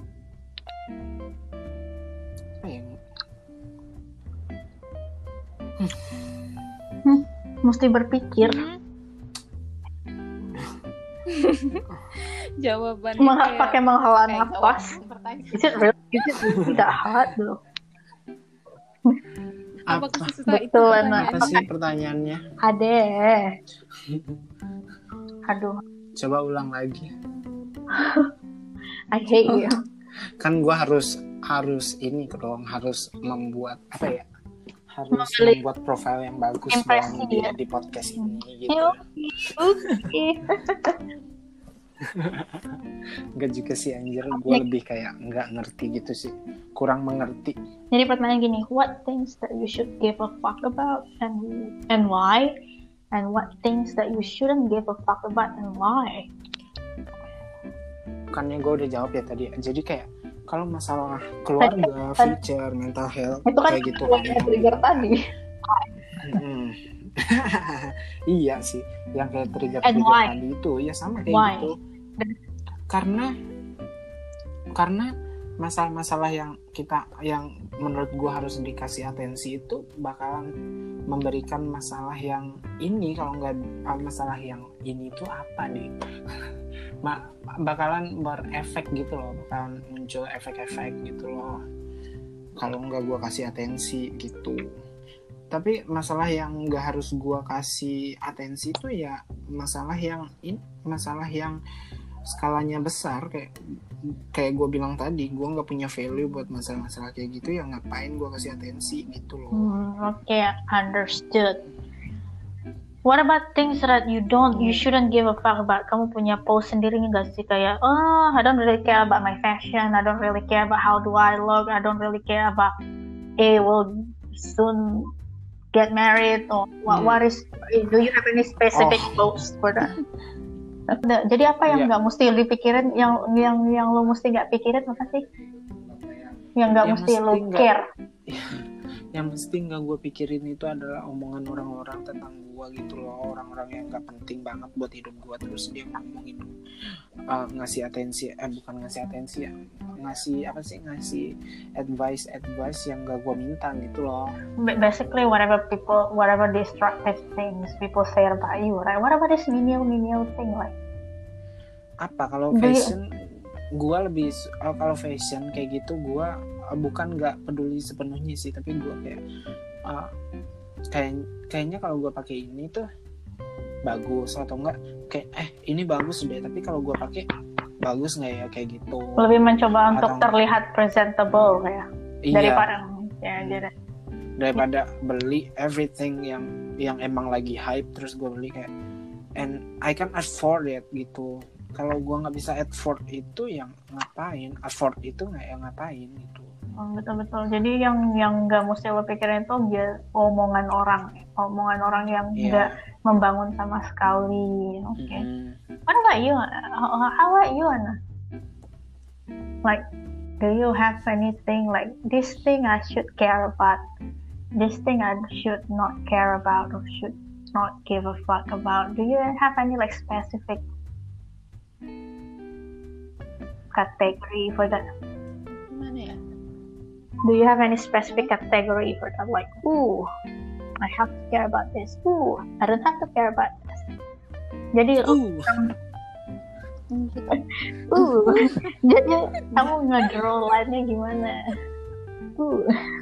Apa ya? Hmm, mesti berpikir. Jawabannya Meng- kayak pakai menghela kayak nafas. jawaban pertanyaan. Is it real? Is it really that hard though? Apa Apa, kesusah itu Betul, pertanyaan? apa sih pertanyaannya? Ade. Aduh, Coba ulang lagi. I hate you. Kan gue harus harus ini dong, harus membuat apa ya? Harus Membeli membuat profil yang bagus impresi, dong di, ya. di podcast ini gitu. Oke. Enggak juga sih anjir, gue lebih kayak nggak ngerti gitu sih, kurang mengerti. Jadi pertanyaan gini, what things that you should give a fuck about and and why? And what things that you shouldn't give a fuck about and why? Bukannya gue udah jawab ya tadi. Jadi kayak kalau masalah keluarga, Tadi- future, mental health Itu kan kayak gitu yang kan. trigger tadi. Mm. Iya sih, yang kayak trigger And trigger why? tadi itu ya sama kayak Why? gitu. Karena karena masalah-masalah yang kita yang menurut gua harus dikasih atensi itu bakalan memberikan masalah yang ini, kalau nggak masalah yang ini itu apa nih? Ma- bakalan berefek gitu loh, bakalan muncul efek-efek gitu loh. Kalau nggak gua kasih atensi gitu. Tapi masalah yang nggak harus gue kasih atensi itu ya masalah yang ini masalah yang skalanya besar, kayak kayak gue bilang tadi, gue nggak punya value buat masalah-masalah kayak gitu, ya ngapain gue kasih atensi gitu loh. Hmm, Oke, okay, understood. What about things that you don't, you shouldn't give a fuck about? Kamu punya post sendiri nggak sih kayak, oh, I don't really care about my fashion, I don't really care about how do I look, I don't really care about, eh, will soon get married, or what, Hmm. what is, do you have any specific Oh. post for that? Nah, jadi apa yang Iya. nggak mesti dipikirin, yang yang yang lo mesti nggak pikirin apa sih? Yang nggak Yang mesti lo mesti nggak- care. Yang mesti nggak gue pikirin itu adalah omongan orang-orang tentang gue gitu loh, orang-orang yang nggak penting banget buat hidup gue, terus dia ngomongin uh, ngasih atensi, eh bukan ngasih atensi ya, ngasih apa sih, ngasih advice advice yang nggak gue minta gitu loh. Ba- Basically, whatever people, whatever destructive things people say about you, right? What about this menial menial thing, like? Apa kalau Do you- fashion, gue lebih su- uh, kalau fashion kayak gitu gue uh, bukan nggak peduli sepenuhnya sih, tapi gue kayak uh, kayak kayaknya kalau gue pakai ini tuh bagus, atau enggak kayak eh ini bagus deh, tapi kalau gue pakai bagus nggak ya, kayak gitu. Lebih mencoba untuk Atau- terlihat presentable ya, Iya, daripada ya jadi. daripada beli everything yang yang emang lagi hype terus gue beli kayak and I can afford it gitu. Kalau gue nggak bisa afford itu, yang ngapain? Afford itu nggak yang ngapain gitu. Oh, betul-betul. Jadi yang yang nggak mesti lo pikirin tuh dia omongan orang, omongan orang yang Iya. nggak membangun sama sekali. Oke. Okay. Mm-hmm. What about you? How, how about you, Anna? Like, do you have anything like this thing I should care about? This thing I should not care about or should not give a fuck about? Do you have any like specific category for that? Gimana ya? Do you have any specific category for that? Like, ooh, I have to care about this. Ooh, I don't have to care about this. Jadi, Uh, uh, jadi kamu nge-draw line-nya gimana? Uh,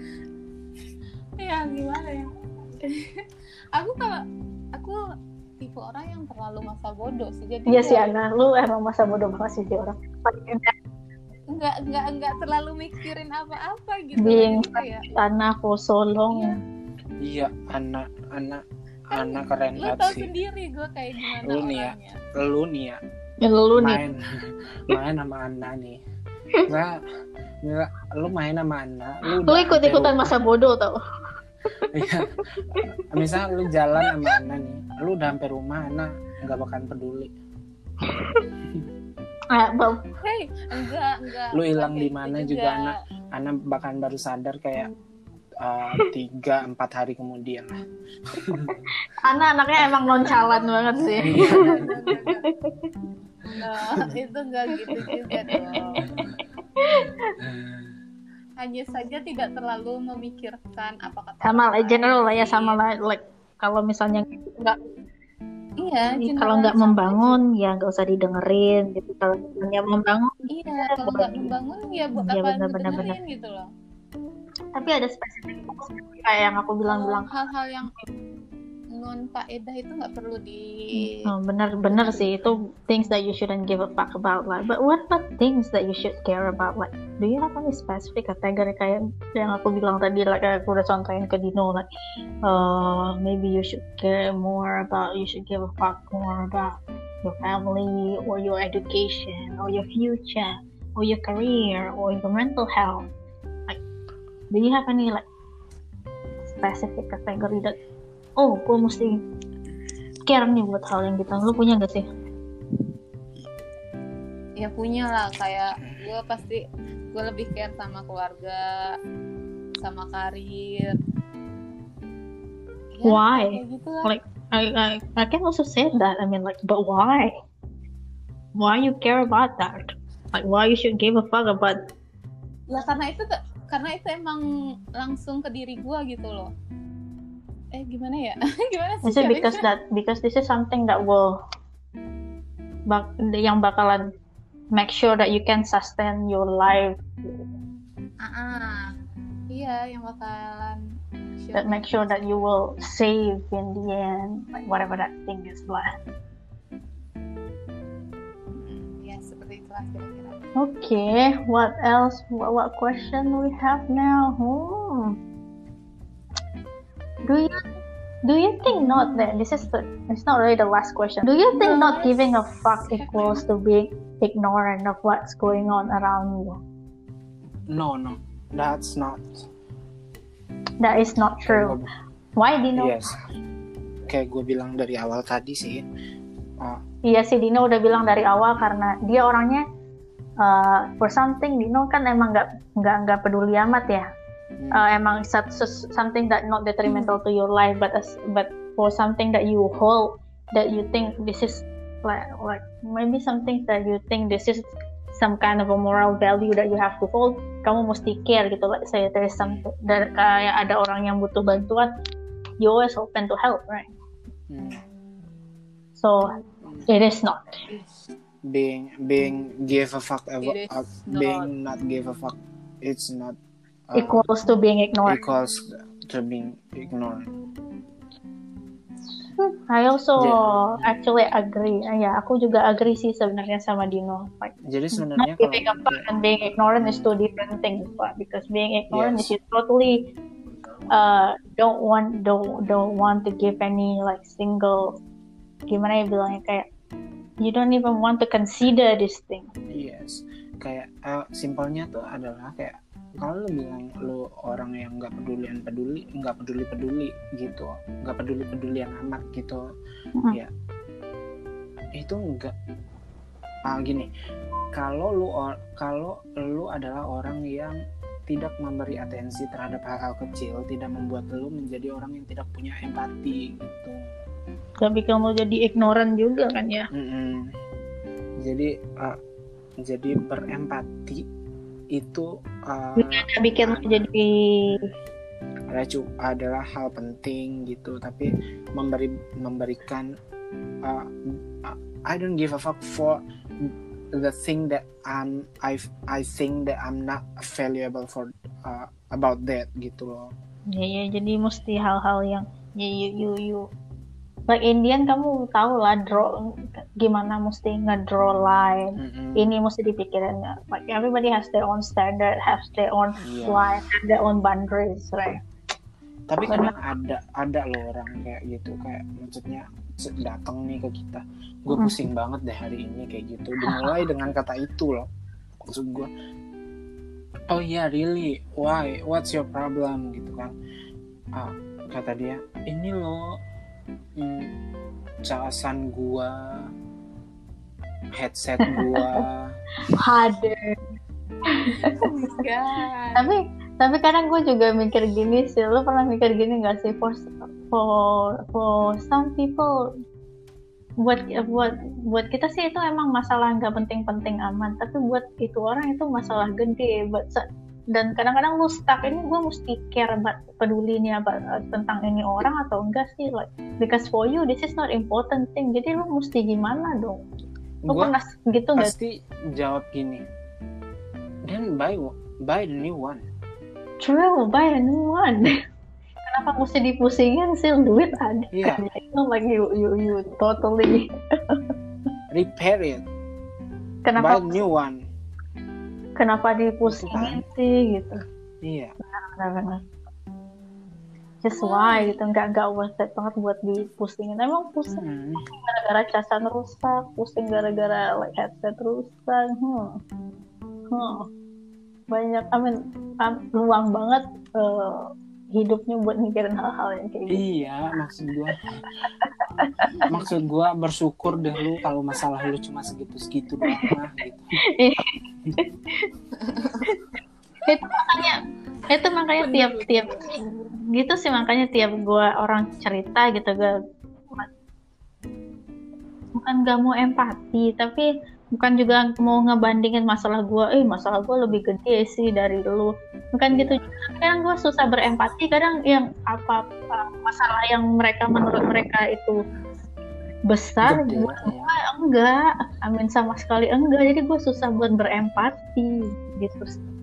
Ya gimana ya? Aku kalau aku tipe orang yang terlalu masa bodoh sih, jadi iya sih ya Ana, lu emang masa bodoh banget sih si orang. nggak nggak nggak terlalu mikirin apa-apa gitu. Being Jadi kayak Ana for so long. iya, anak anak kan anak keren lu banget tau sih. sendiri gue kayak gimana Lu nih ya. orangnya. Lu nih ya Ya lu nih. main main sama Anna nih. Nah, Mila, lu main sama anak, lu, Lu ikut-ikutan masa bodoh tau. Iya. Misal lu jalan sama anak nih, lu udah sampai rumah, anak nggak bakalan peduli. Ah, bang. Hey, enggak, enggak. Lu hilang Enggak di kayak mana gitu juga anak, anak bakalan baru sadar kayak uh, tiga empat hari kemudian lah. Anak-anaknya emang nonchalant banget sih. Nah, itu enggak gitu juga dong. Hanya saja tidak terlalu memikirkan apa kata Sama orang general lah ya, lain. sama lah like kalau misalnya nggak Iya, kalau nggak general membangun ya nggak usah didengerin gitu. Kalau misalnya membangun, Iya, kalau nggak membangun ya buat Iya, apa benar-benar, ngedengerin gitu loh. tapi ada spesifik kayak yang aku bilang-bilang. Hal-hal yang non faedah itu nggak perlu di Oh, bener-bener sih itu things that you shouldn't give a fuck about lah. But what about things that you should care about? Like, do you have any specific category kayak yang aku bilang tadi, like aku udah contohin ke Dino, like, uh, maybe you should care more about, you should give a fuck more about your family or your education or your future or your career or your mental health. Like, do you have any like specific category that oh, gue mesti care nih buat hal yang gitu. Lu punya gak sih? ya punya lah, kayak gue pasti gue lebih care sama keluarga, sama karir. Ya, Why? kayak gitu lah. Like, I, I, I can also say that. I mean, like, but why? Why you care about that? Like, why you should give a fuck about? Lah karena itu karena itu emang langsung ke diri gue gitu loh. Eh gimana ya? Gimana sih? Is it because that because this is something that will bak yang bakalan make sure that you can sustain your life. Ah, ah. Iya, yang bakalan sure. That make sure that you will save in the end, like whatever that thing is lah. Ya seperti itulah kira-kira. Okay, what else? What, what question we have now? Hmm. Do you do you think not that this is the it's not really the last question. Do you think No, not giving a fuck equals to being ignorant of what's going on around you? No, no, that's not. That is not true. Why, Dino? Yes. Kayak gue bilang dari awal tadi sih. Uh, Iya sih, Dino udah bilang dari awal karena dia orangnya uh, for something Dino kan emang nggak nggak nggak peduli amat ya. Uh, emang something that not detrimental to your life, but as, but for something that you hold, that you think this is like like maybe something that you think this is some kind of a moral value that you have to hold, kamu mesti care gitu. Let's say there is something that kayak ada orang yang butuh bantuan, you always open to help, right? hmm. So it is not. Being being give a fuck about It is uh, not. being not give a fuck. It's not. Uh, Equals to being ignored. equals to being ignored. I also Yeah. actually agree. Uh, ya, aku juga agree sih sebenarnya sama Dino. Like, Jadi sebenarnya not giving a fuck kalau and being ignorant is two different things, Pak. Because being ignorant Yes. is you totally uh, don't want don't don't want to give any like single gimana ya bilangnya kayak you don't even want to consider this thing. yes, kayak uh, simpelnya tuh adalah kayak kalau lu bilang lu orang yang nggak pedulian peduli nggak peduli peduli gitu, nggak peduli pedulian amat gitu, Mm-hmm. ya itu enggak ah gini, kalau lu or, kalau lu adalah orang yang tidak memberi atensi terhadap hal-hal kecil, tidak membuat lu menjadi orang yang tidak punya empati gitu. Tapi kamu jadi ignorant juga kan ya? Mm-mm. Jadi uh, jadi berempati itu uh, Bikin lu jadi adalah, adalah hal penting gitu, tapi memberi memberikan uh, I don't give a fuck for the thing that I'm I I think that I'm not valuable for uh, about that gitu loh. ya, ya jadi mesti hal-hal yang ya you you you like Indian kamu tahu lah draw gimana mesti ngedraw line. Mm-mm. Ini mesti dipikirin like everybody has their own standard, has their own Iya. line, have their own boundaries, right? Tapi kadang ada ada loh orang kayak gitu, kayak maksudnya datang nih ke kita, gue Mm. pusing banget deh hari ini kayak gitu, dimulai dengan kata itu loh. Maksud gue, oh iya yeah, really, why, what's your problem gitu kan. Ah, kata dia, ini loh hmm, casan gua, headset gua. Hadir. Oh my god. tapi tapi kadang gue juga mikir gini sih, lo pernah mikir gini nggak sih, for for for some people, buat buat buat kita sih itu emang masalah nggak penting-penting aman, tapi buat itu orang itu masalah gede. But, dan kadang-kadang lu stuck, ini gue mesti care about, peduli nih about, uh, tentang ini orang atau enggak sih, like because for you this is not important thing, jadi lu mesti gimana dong? Lu Gua pernah gitu nggak? pasti jawab gini, then buy buy the new one. True, buy a new one. Kenapa mesti dipusingin sih, duit ada. Iya. Itu like you you you totally Repair it. kenapa Buy a new one. kenapa dipusingin sih gitu. Iya. Benar-benar. Just why gitu, nggak nggak worth it banget buat dipusingin. Emang pusing Hmm. gara-gara casan rusak, pusing gara-gara like headset rusak. Hmm. Hmm. Banyak, I mean, um, luang banget uh, hidupnya buat mikirin hal-hal yang kayak gitu. Iya, maksud gua. maksud gua bersyukur deh lu kalau masalah lu cuma segitu-segitu doang lah gitu. itu makanya itu makanya tiap-tiap gitu sih, makanya tiap gue orang cerita gitu, gue bukan gak mau empati, tapi bukan juga mau ngebandingin masalah gue, eh masalah gue lebih gede sih dari lu, bukan gitu juga. Kadang gue susah berempati, kadang yang apa, apa masalah yang mereka menurut mereka itu besar, Gede, buat ya. gue enggak, amin sama sekali enggak, jadi gue susah buat berempati gitu.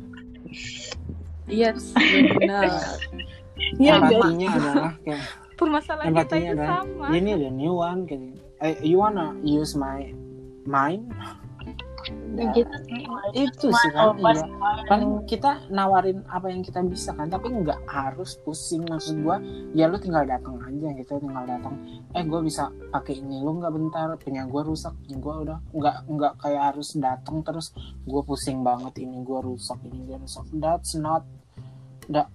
Iya, benar. Iya, Empatinya adalah kayak Permasalahan kita empatinya itu adalah sama. ini the new one kayak eh, you wanna use my mind. gitu sih. Itu sih kan, Pas- iya. Paling kita nawarin apa yang kita bisa kan, tapi nggak harus pusing. Maksud gua ya lu tinggal datang aja gitu, tinggal datang, eh gua bisa pakai ini, lu nggak bentar, punya gua rusak, gua udah nggak nggak kayak harus datang terus gua pusing banget, ini gua rusak, ini gua rusak. That's not that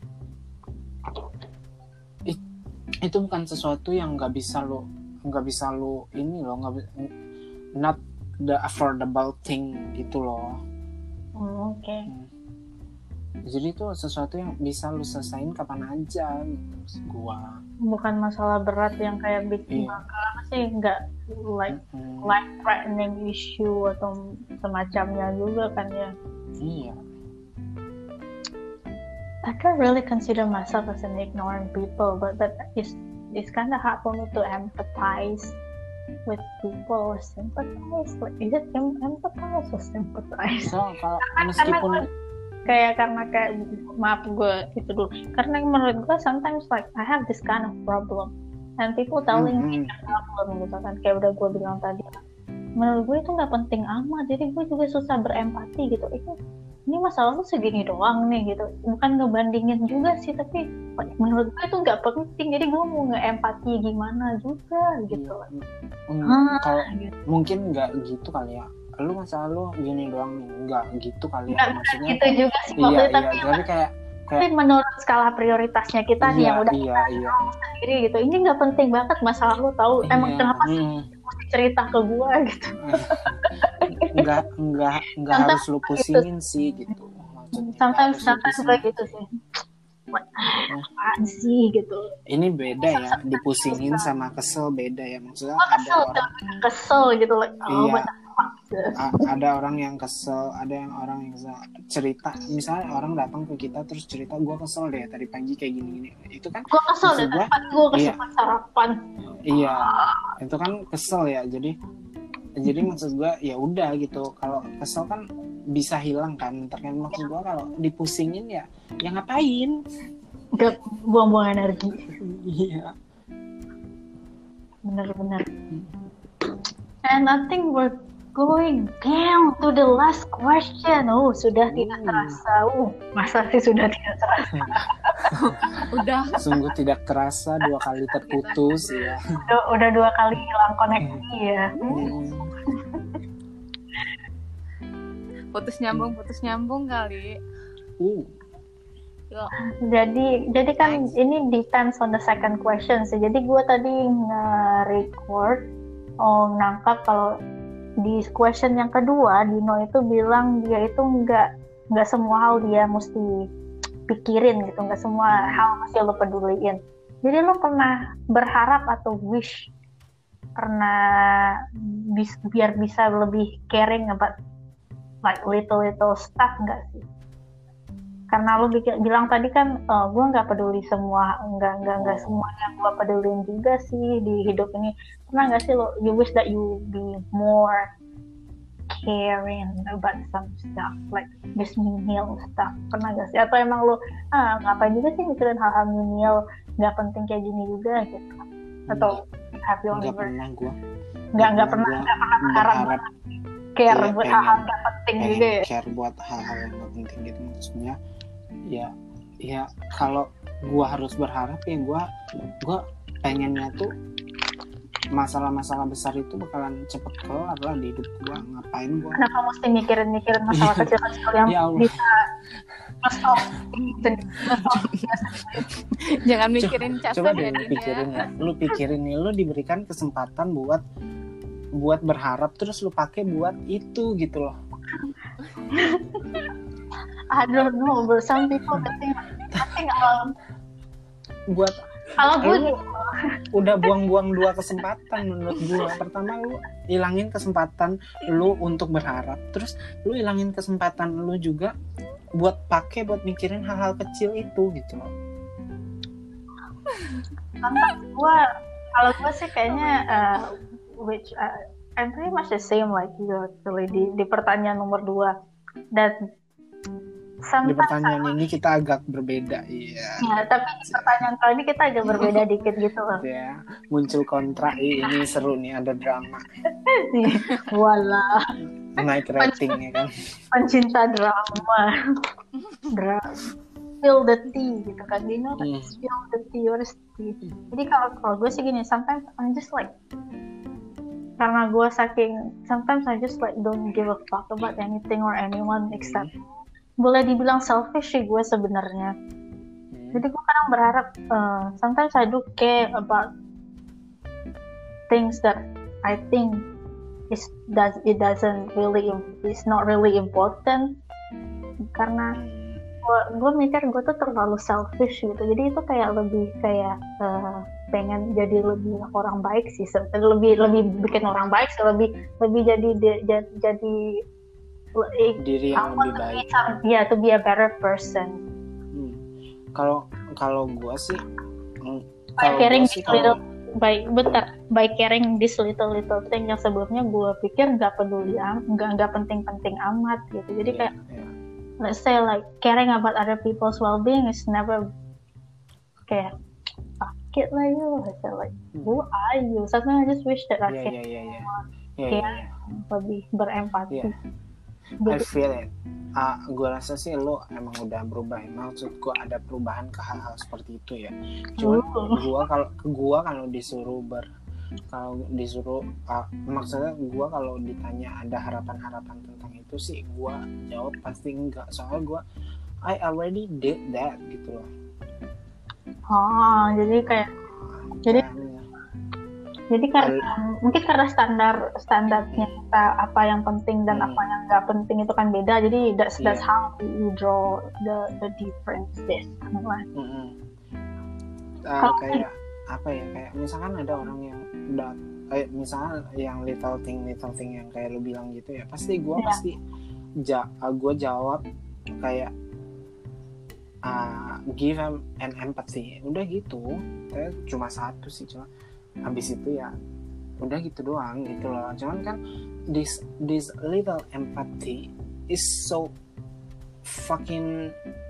It, itu bukan sesuatu yang nggak bisa lu nggak bisa lu ini loh, nggak bi- not the affordable thing gitu loh. Hmm, oke. Okay. Jadi itu sesuatu yang bisa lu selesain kapan aja gitu maksud gua. Bukan masalah berat yang kayak bikin Iya. masalah sih, nggak like Mm-mm. life threatening issue atau semacamnya juga kan ya. Iya. I can't really consider myself as an ignorant people, but but it's it's kind of hard for me to empathize with people or sympathize. Like, is it em- empathize or sympathize? So kalau Karena meskipun gue- kayak karena kayak maaf gue itu dulu. Karena menurut gue sometimes like I have this kind of problem and people telling me Mm-mm. the problem gitu kan, kayak udah gue bilang tadi. Menurut gue itu nggak penting amat, jadi gue juga susah berempati gitu. Itu ini masalah lu segini doang nih gitu, bukan ngebandingin juga sih, tapi menurut gue itu nggak penting, jadi gue mau nge-empati gimana juga gitu. Mm, Ah, kalau gitu. mungkin nggak gitu kali ya, lu masalah lu gini doang nih, nggak gitu kali ya, Nggak maksudnya gitu juga sih iya maksudnya, iya, tapi, tapi kayak tapi kayak menurut skala prioritasnya kita nih iya yang udah iya iya sendiri gitu, ini nggak penting banget masalah lu tahu, emang iya, kenapa sih mm. mesti cerita ke gue gitu. nggak nggak nggak Sometimes harus lu pusingin sih gitu maksudnya, nggak Sometimes harus lu sometimes pusingin. gue gitu sih, apaan sih gitu. Ini beda ya, dipusingin sama kesel beda ya, maksudnya Gue ada kesel, orang kesel gitu like, oh Iya. what the fuck gitu. a- ada orang yang kesel, ada yang orang yang kesel. Cerita misalnya orang datang ke kita terus cerita, gue kesel deh tadi pagi kayak gini-gini, itu kan Gue kesel maksud deh, gua, tadi gue kesel iya. sarapan. iya itu kan kesel ya, jadi jadi maksud gue ya udah gitu, kalau kesel kan bisa hilang kan, terkait maksud gue kalau dipusingin ya ya ngapain. Gak buang-buang energi. Iya. Bener-bener. And I think we're going down to the last question. Oh, sudah tidak Hmm. terasa. Uh, masa sih sudah tidak terasa. Udah. Sungguh tidak terasa dua kali terputus ya. Udah, udah dua kali hilang koneksi ya. Hmm. putus nyambung putus nyambung kali. Uh. Yuk. Jadi jadi kan ini depends on the second question sih. Jadi gue tadi nge-record, oh nangkap kalau di question yang kedua Dino itu bilang dia itu nggak nggak semua hal dia mesti pikirin gitu, nggak semua hal mesti lo peduliin. Jadi lo pernah berharap atau wish pernah bis, biar bisa lebih caring about like little little stuff nggak sih? Karena lo bilang tadi kan uh, gue nggak peduli semua, nggak nggak nggak semua yang gue pedulin juga sih di hidup ini. Pernah nggak sih lo you wish that you be more caring about some stuff like just menial stuff? Pernah nggak sih? Atau emang lo ah ngapain juga sih mikirin hal-hal menial nggak penting kayak gini juga gitu? Atau have you Nggak ever pernah gue. nggak nggak pernah nggak pernah berharap care Iya, buat pengen- hal-hal nggak penting pengen juga ya? care buat hal-hal yang gak penting gitu, maksudnya ya ya kalau gua harus berharap ya gua gua pengennya tuh masalah-masalah besar itu bakalan cepet kelar lah di hidup gua. Ngapain gua Kenapa mesti mikirin-mikirin masalah kecil-kecil yang Ya Allah. bisa nge-stop nge-stop Jangan mikirin casan coba ya deh lu Din pikirin ya. ya lu pikirin nih, lu diberikan kesempatan buat buat berharap terus lu pakai buat itu gitu loh. I don't know, but some people think I think um, Buat kalau gue lu udah buang-buang dua kesempatan menurut gua. Pertama lu hilangin kesempatan lu untuk berharap, terus lu hilangin kesempatan lu juga buat pakai buat mikirin hal-hal kecil itu gitu loh. gue kalau gue sih kayaknya uh, which uh, I'm pretty much the same like you actually di, di pertanyaan nomor dua. Dan Di sometimes pertanyaan ini kita agak berbeda, iya. ya, tapi di pertanyaan kali ini kita agak berbeda dikit gitu loh. Ya, muncul kontra. Ih, ini seru nih, ada drama. Walah, Naik rating ya kan. pencinta drama. Drama. Spill the tea gitu kan, Dino kan Hmm. spill the tea, what is tea? Jadi kalau kalau gue sih gini, sometimes I'm just like, karena gue saking, sometimes I just like don't give a fuck about anything or anyone except, boleh dibilang selfish sih gue sebenarnya. Hmm. Jadi gue kadang berharap, uh, sometimes I do care about things that I think is does it doesn't really it's not really important, karena gue gue mikir gue tuh terlalu selfish gitu. Jadi itu kayak lebih kayak uh, pengen jadi lebih orang baik sih, se- lebih lebih bikin orang baik sih, lebih lebih jadi jadi, jadi Diri yang lebih baik. ya, to be a better person. Hmm. Kalau kalau gua sih, mm, By kalau caring gua sih this little, kalau by bentar, by caring this little little thing yang sebelumnya gue pikir nggak peduli, am- nggak nggak penting-penting amat gitu. Jadi Iya, kayak iya. let's say like caring about other people's well-being is never kayak fuck it lah you. I say like who are you? Sometimes I just wish that I Iya, can iya, iya, iya. Iya, Kayak- iya, iya. lebih berempati. Iya. I feel it. Ah, gue rasa sih lo emang udah berubah ya. Maksud gue ada perubahan ke hal-hal seperti itu ya. Cuman Uh. gue kalau gue kalau disuruh ber kalau disuruh ah, maksudnya gue kalau ditanya ada harapan-harapan tentang itu sih gue jawab pasti enggak. Soalnya gue I already did that gitu loh. Oh, jadi kayak Jadi- Dan, jadi karena mungkin karena standar standarnya kita apa yang penting dan Hmm. apa yang nggak penting itu kan beda. Jadi that's that's Iya. how you draw the the differences. mm-mm. Ah, Kalau- kayak apa ya, kayak misalkan ada orang yang udah kayak misalnya yang little thing little thing yang kayak lu bilang gitu ya, pasti gue Iya. pasti ja, gue jawab kayak uh, give them an empathy, udah gitu. Kayak cuma satu sih, cuma habis itu ya udah gitu doang gitu loh. Cuman kan this this little empathy is so fucking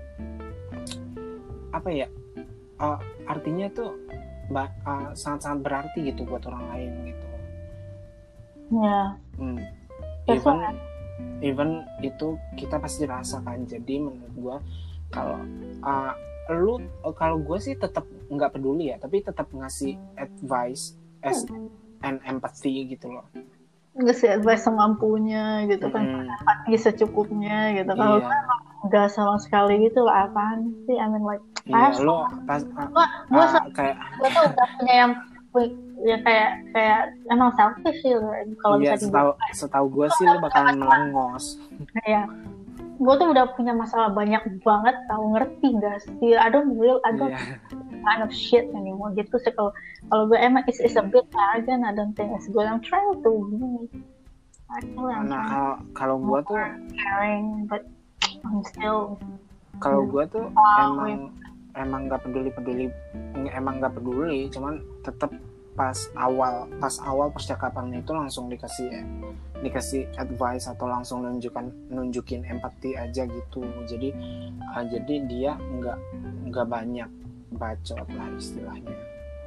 apa ya, uh, artinya tuh ba- uh, sangat-sangat berarti gitu buat orang lain gitu. Ya, Hmm. That's Even even itu kita pasti rasakan. Jadi menurut gue kalau uh, lu kalau gue sih tetap nggak peduli ya, tapi tetap ngasih advice as an empathy gitu loh. ngasih advice semampunya gitu kan, Mm-mm. empati secukupnya gitu. Kalau gue Iya, emang nggak sama sekali gitu lah, apaan sih, I mean like I iya have lo pas ah, gue gue ah, kayak gue tuh udah punya yang pu- ya kayak kayak emang selfish sih kalau iya bisa setahu dibilang. setahu gue sih lo bakalan melengos. Kayak gue tuh udah punya masalah banyak banget, tahu, ngerti gak sih? I don't real I don't Iya, kind of shit anymore gitu sih. Kalau kalau gue emang it's, it's a bit arrogant, I don't think it's good. I'm trying to be actually I'm nah trying kalau kalau gue tuh caring, but I'm still kalau gue tuh Oh, emang emang nggak peduli peduli emang nggak peduli, cuman tetap pas awal pas awal percakapan itu langsung dikasih dikasih advice atau langsung nunjukkan nunjukin empati aja gitu. Jadi uh, jadi dia nggak nggak banyak bacot lah istilahnya.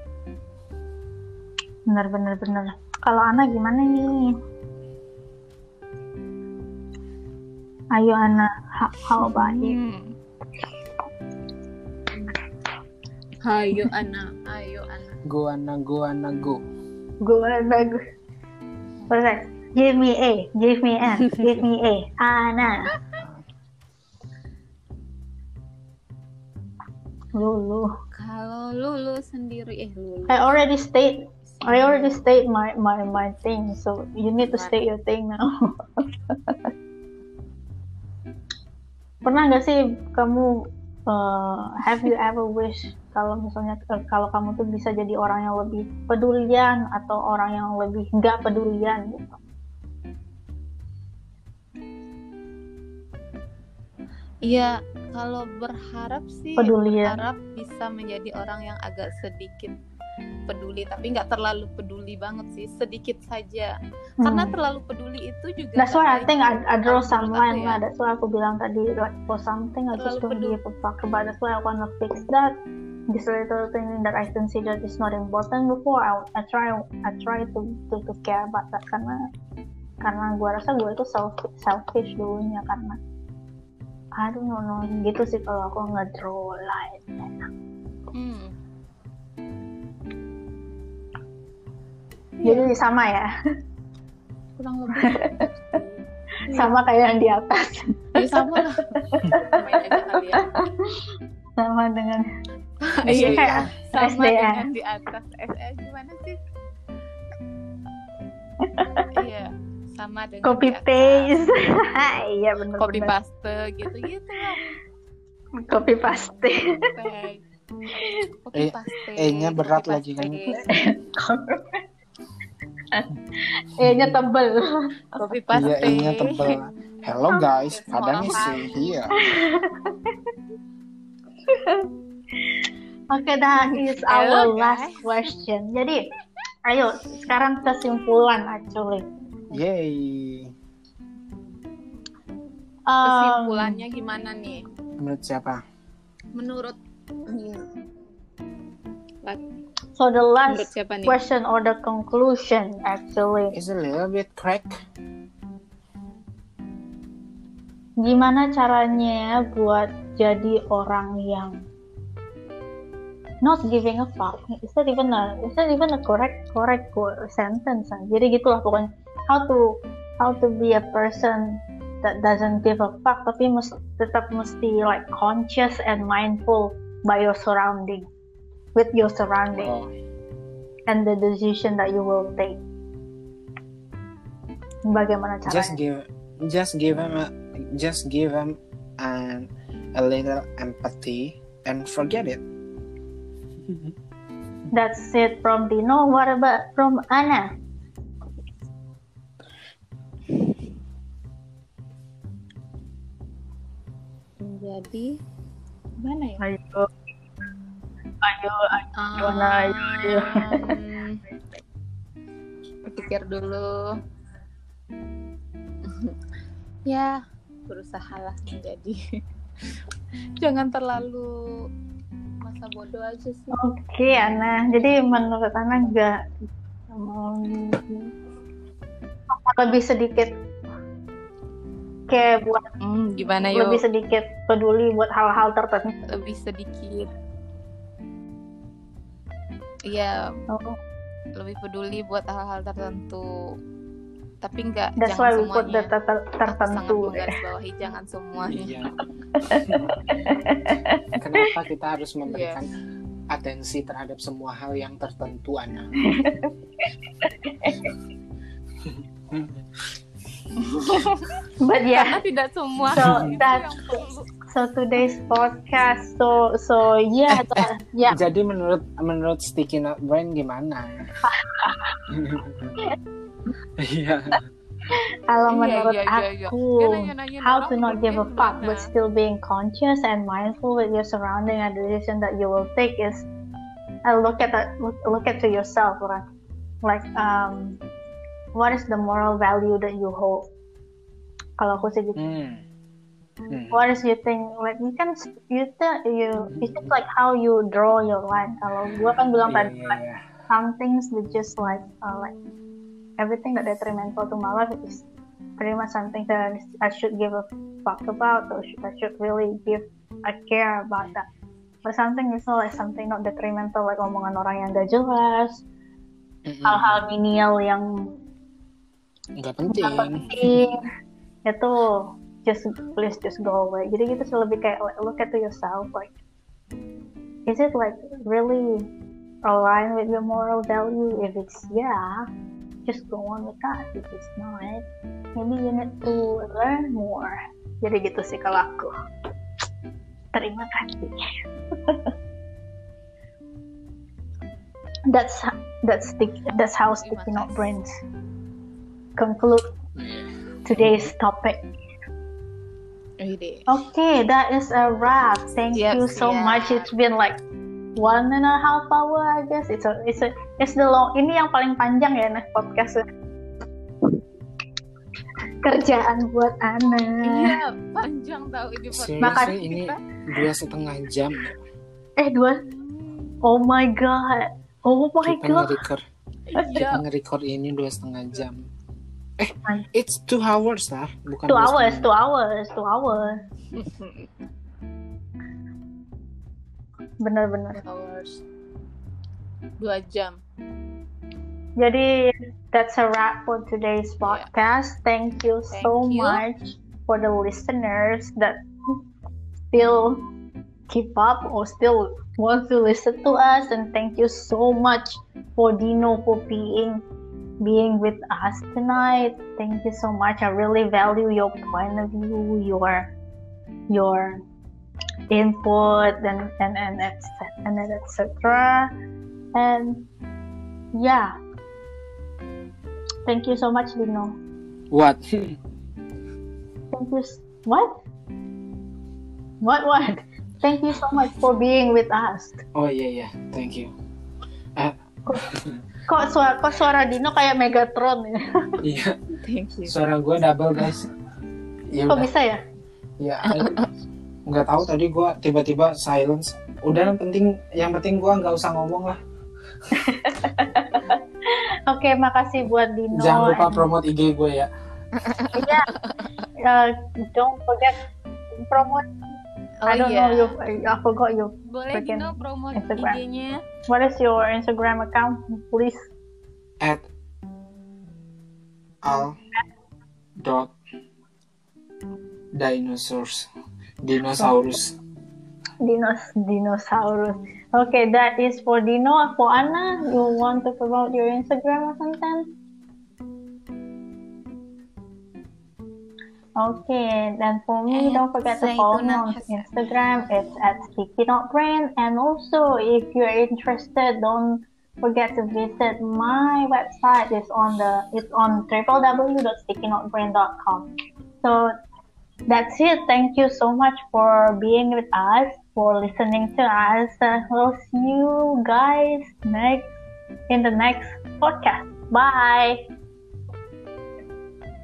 bener bener bener. Kalau Ana gimana nih? Ayo Ana, how, how about you? Hmm. Ayo Ana, ayo Ana. Go Ana, go Ana, go. Gue bagus. Perfect. Give me A, give me N, give me A. Ana. Lulu. Kalau Lulu sendiri, eh Lulu. I already state, I already state my my my thing. So you need to state your thing now. Pernah nggak sih kamu uh, have you ever wish kalau misalnya uh, kalau kamu tuh bisa jadi orang yang lebih pedulian atau orang yang lebih nggak pedulian gitu? Iya, kalau berharap sih Pedulian. berharap bisa menjadi orang yang agak sedikit peduli, tapi nggak terlalu peduli banget sih, sedikit saja. Karena Hmm. terlalu peduli itu juga That's why I baik. think I, I draw Kalau some menurut aku line ya. lah. That's why aku bilang tadi like for something I just Terlalu don't peduli. give a fuck about. That's why I wanna fix that. This little thing that I consider is not important before. I, I try I try to, to to care about that karena karena gue rasa gue itu self, selfish dulunya karena I don't know, no, gitu sih kalau aku nge-draw line. Hmm. Jadi sama ya, Kurang lebih sama kayak yang di atas, ya sama lah. Main aja kali ya. sama dengan Iya, iya kayak Sama S D A. dengan di atas. S D A gimana sih? Iya, sama dengan Copy di atas. paste. Iya Copy benar-benar. paste gitu-gitu lah. Copy paste. Perfect. Copy Eh, paste. E-nya berat copy lagi kan? paste. E-nya tebel. Copy Iya, paste. E-nya tebal. Hello guys, Semua Padang orang is here. Oke, that is Hello, our last guys. question. Jadi, ayo sekarang kesimpulan actually. Yay. Um, Kesimpulannya gimana nih? Menurut siapa? Menurut So the menurut last siapa nih? question or the conclusion actually, It's a little bit crack. gimana caranya buat jadi orang yang not giving a fuck? Is that even a is that even a correct correct sentence? Jadi gitulah pokoknya. How to how to be a person that doesn't give a fuck tapi mesti tetap mesti like conscious and mindful by your surrounding, with your surrounding Oh, and the decision that you will take. Bagaimana caranya? just give, just give him a, just give him an, a little empathy and forget it. That's it from Dino. What about from Ana? Jadi gimana ya? Ayo, ayo, ayo, Ana, ayo, ayo. Um, Pikir dulu. Ya, berusahalah menjadi. Jangan terlalu masa bodoh aja sih. Oke, Ana. Jadi menurut Ana nggak um, lebih sedikit kayak buat Hmm, gimana yuk? lebih sedikit peduli buat hal-hal tertentu. Lebih sedikit. Iya, Oh, lebih peduli buat hal-hal tertentu. Tapi nggak, That's jangan why we put the semuanya. ter- ter- Aku sangat tertentu. menggarisbawahi jangan semuanya. Iya. Kenapa kita harus memberikan atensi terhadap semua hal yang tertentu, Ana? But yeah, Karena tidak semua So hal itu that's- yang perlu. so today's podcast. So so yeah, that- yeah. Jadi menurut menurut Sticky Not Brain gimana? Iya. Kalau Iya, menurut iya, iya, iya. aku, Dia nanya-nanyain how orang to not give a hidupnya fuck gimana. but still being conscious and mindful with your surrounding and the decision that you will take is, uh, look at that, look, look at to yourself, right? Like um, what is the moral value that you hold? Kalau aku sih gitu. Hmm. Hmm. What is you think? Like you can you tell you it's just like how you draw your line. Kalau gua kan bilang Iya, tadi, iya, like, iya. some things that just like uh, like everything that detrimental to my life is pretty much something that I should give a fuck about, or should, I should really give a care about that. But something is like something not detrimental, like omongan orang yang gak jelas, Mm-mm. hal-hal menial yang Nggak gak penting. penting, itu just please just go away. Jadi gitu sih, lebih kayak like, look at to yourself, like is it like really aligned with your moral value? If it's yeah, just go on with that. If it's not, maybe you need to learn more. Jadi gitu sih kalau aku. Terima kasih. that's that's stick that's how Sticky Not Brains conclude today's topic. Ide. Okay, that is a wrap. Thank Yep, you so yeah. much. It's been like one and a half hour, I guess. It's a, it's a, it's the long. Ini yang paling panjang ya, nah podcast. Kerjaan buat Ana. Iya, panjang tau ini podcast. Makasih Seriously, ini dua setengah jam. Eh dua. Oh my god. Oh my Kita god. nge-record, Iya. kita nge-record ini dua setengah jam. Eh, An- it's two hours lah, bukan Two dua hours, setengah. two hours, two hours. Bener-bener. Hours. Dua jam. Jadi that's a wrap for today's podcast. Thank you Thank so you. much for the listeners that still keep up or still want to listen to us, and thank you so much for Dino for being being with us tonight. Thank you so much. I really value your point of view, your your input, and and and et cetera. And et cetera. And yeah. Thank you so much, Dino. What? Thank you. s- What? What? What? Thank you so much for being with us. Oh iya iya, thank you. Ah, Kok suara, kok suara Dino kayak Megatron ya? iya, Thank you. suara gue double guys. Ya Kok udah, bisa ya? ya nggak tahu tadi gue tiba-tiba silence. Udah yang penting, yang penting gue nggak usah ngomong lah. Oke, makasih buat Dino. Jangan lupa And- promote I G gue ya. Iya. Uh, don't forget promote. Oh I don't iya. know you. I forgot you. Boleh Freaking Dino promote Instagram. I G-nya. What is your Instagram account, please? At al dot dinosaurs dinosaurus. Dinos dinosaurus. Okay, that is for Dino. For Anna, you want to promote your Instagram or something? Okay, then for me, At don't forget to follow me on Zaituna Instagram. It's at Sticky Not Brain. And also, if you're interested, don't forget to visit my website. It's on the it's on w w w dot sticky not brain dot com. So that's it. Thank you so much for being with us, for listening to us. Uh, we'll see you guys next in the next podcast. Bye.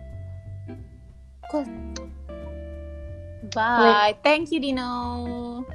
Bye. Thank you Dino.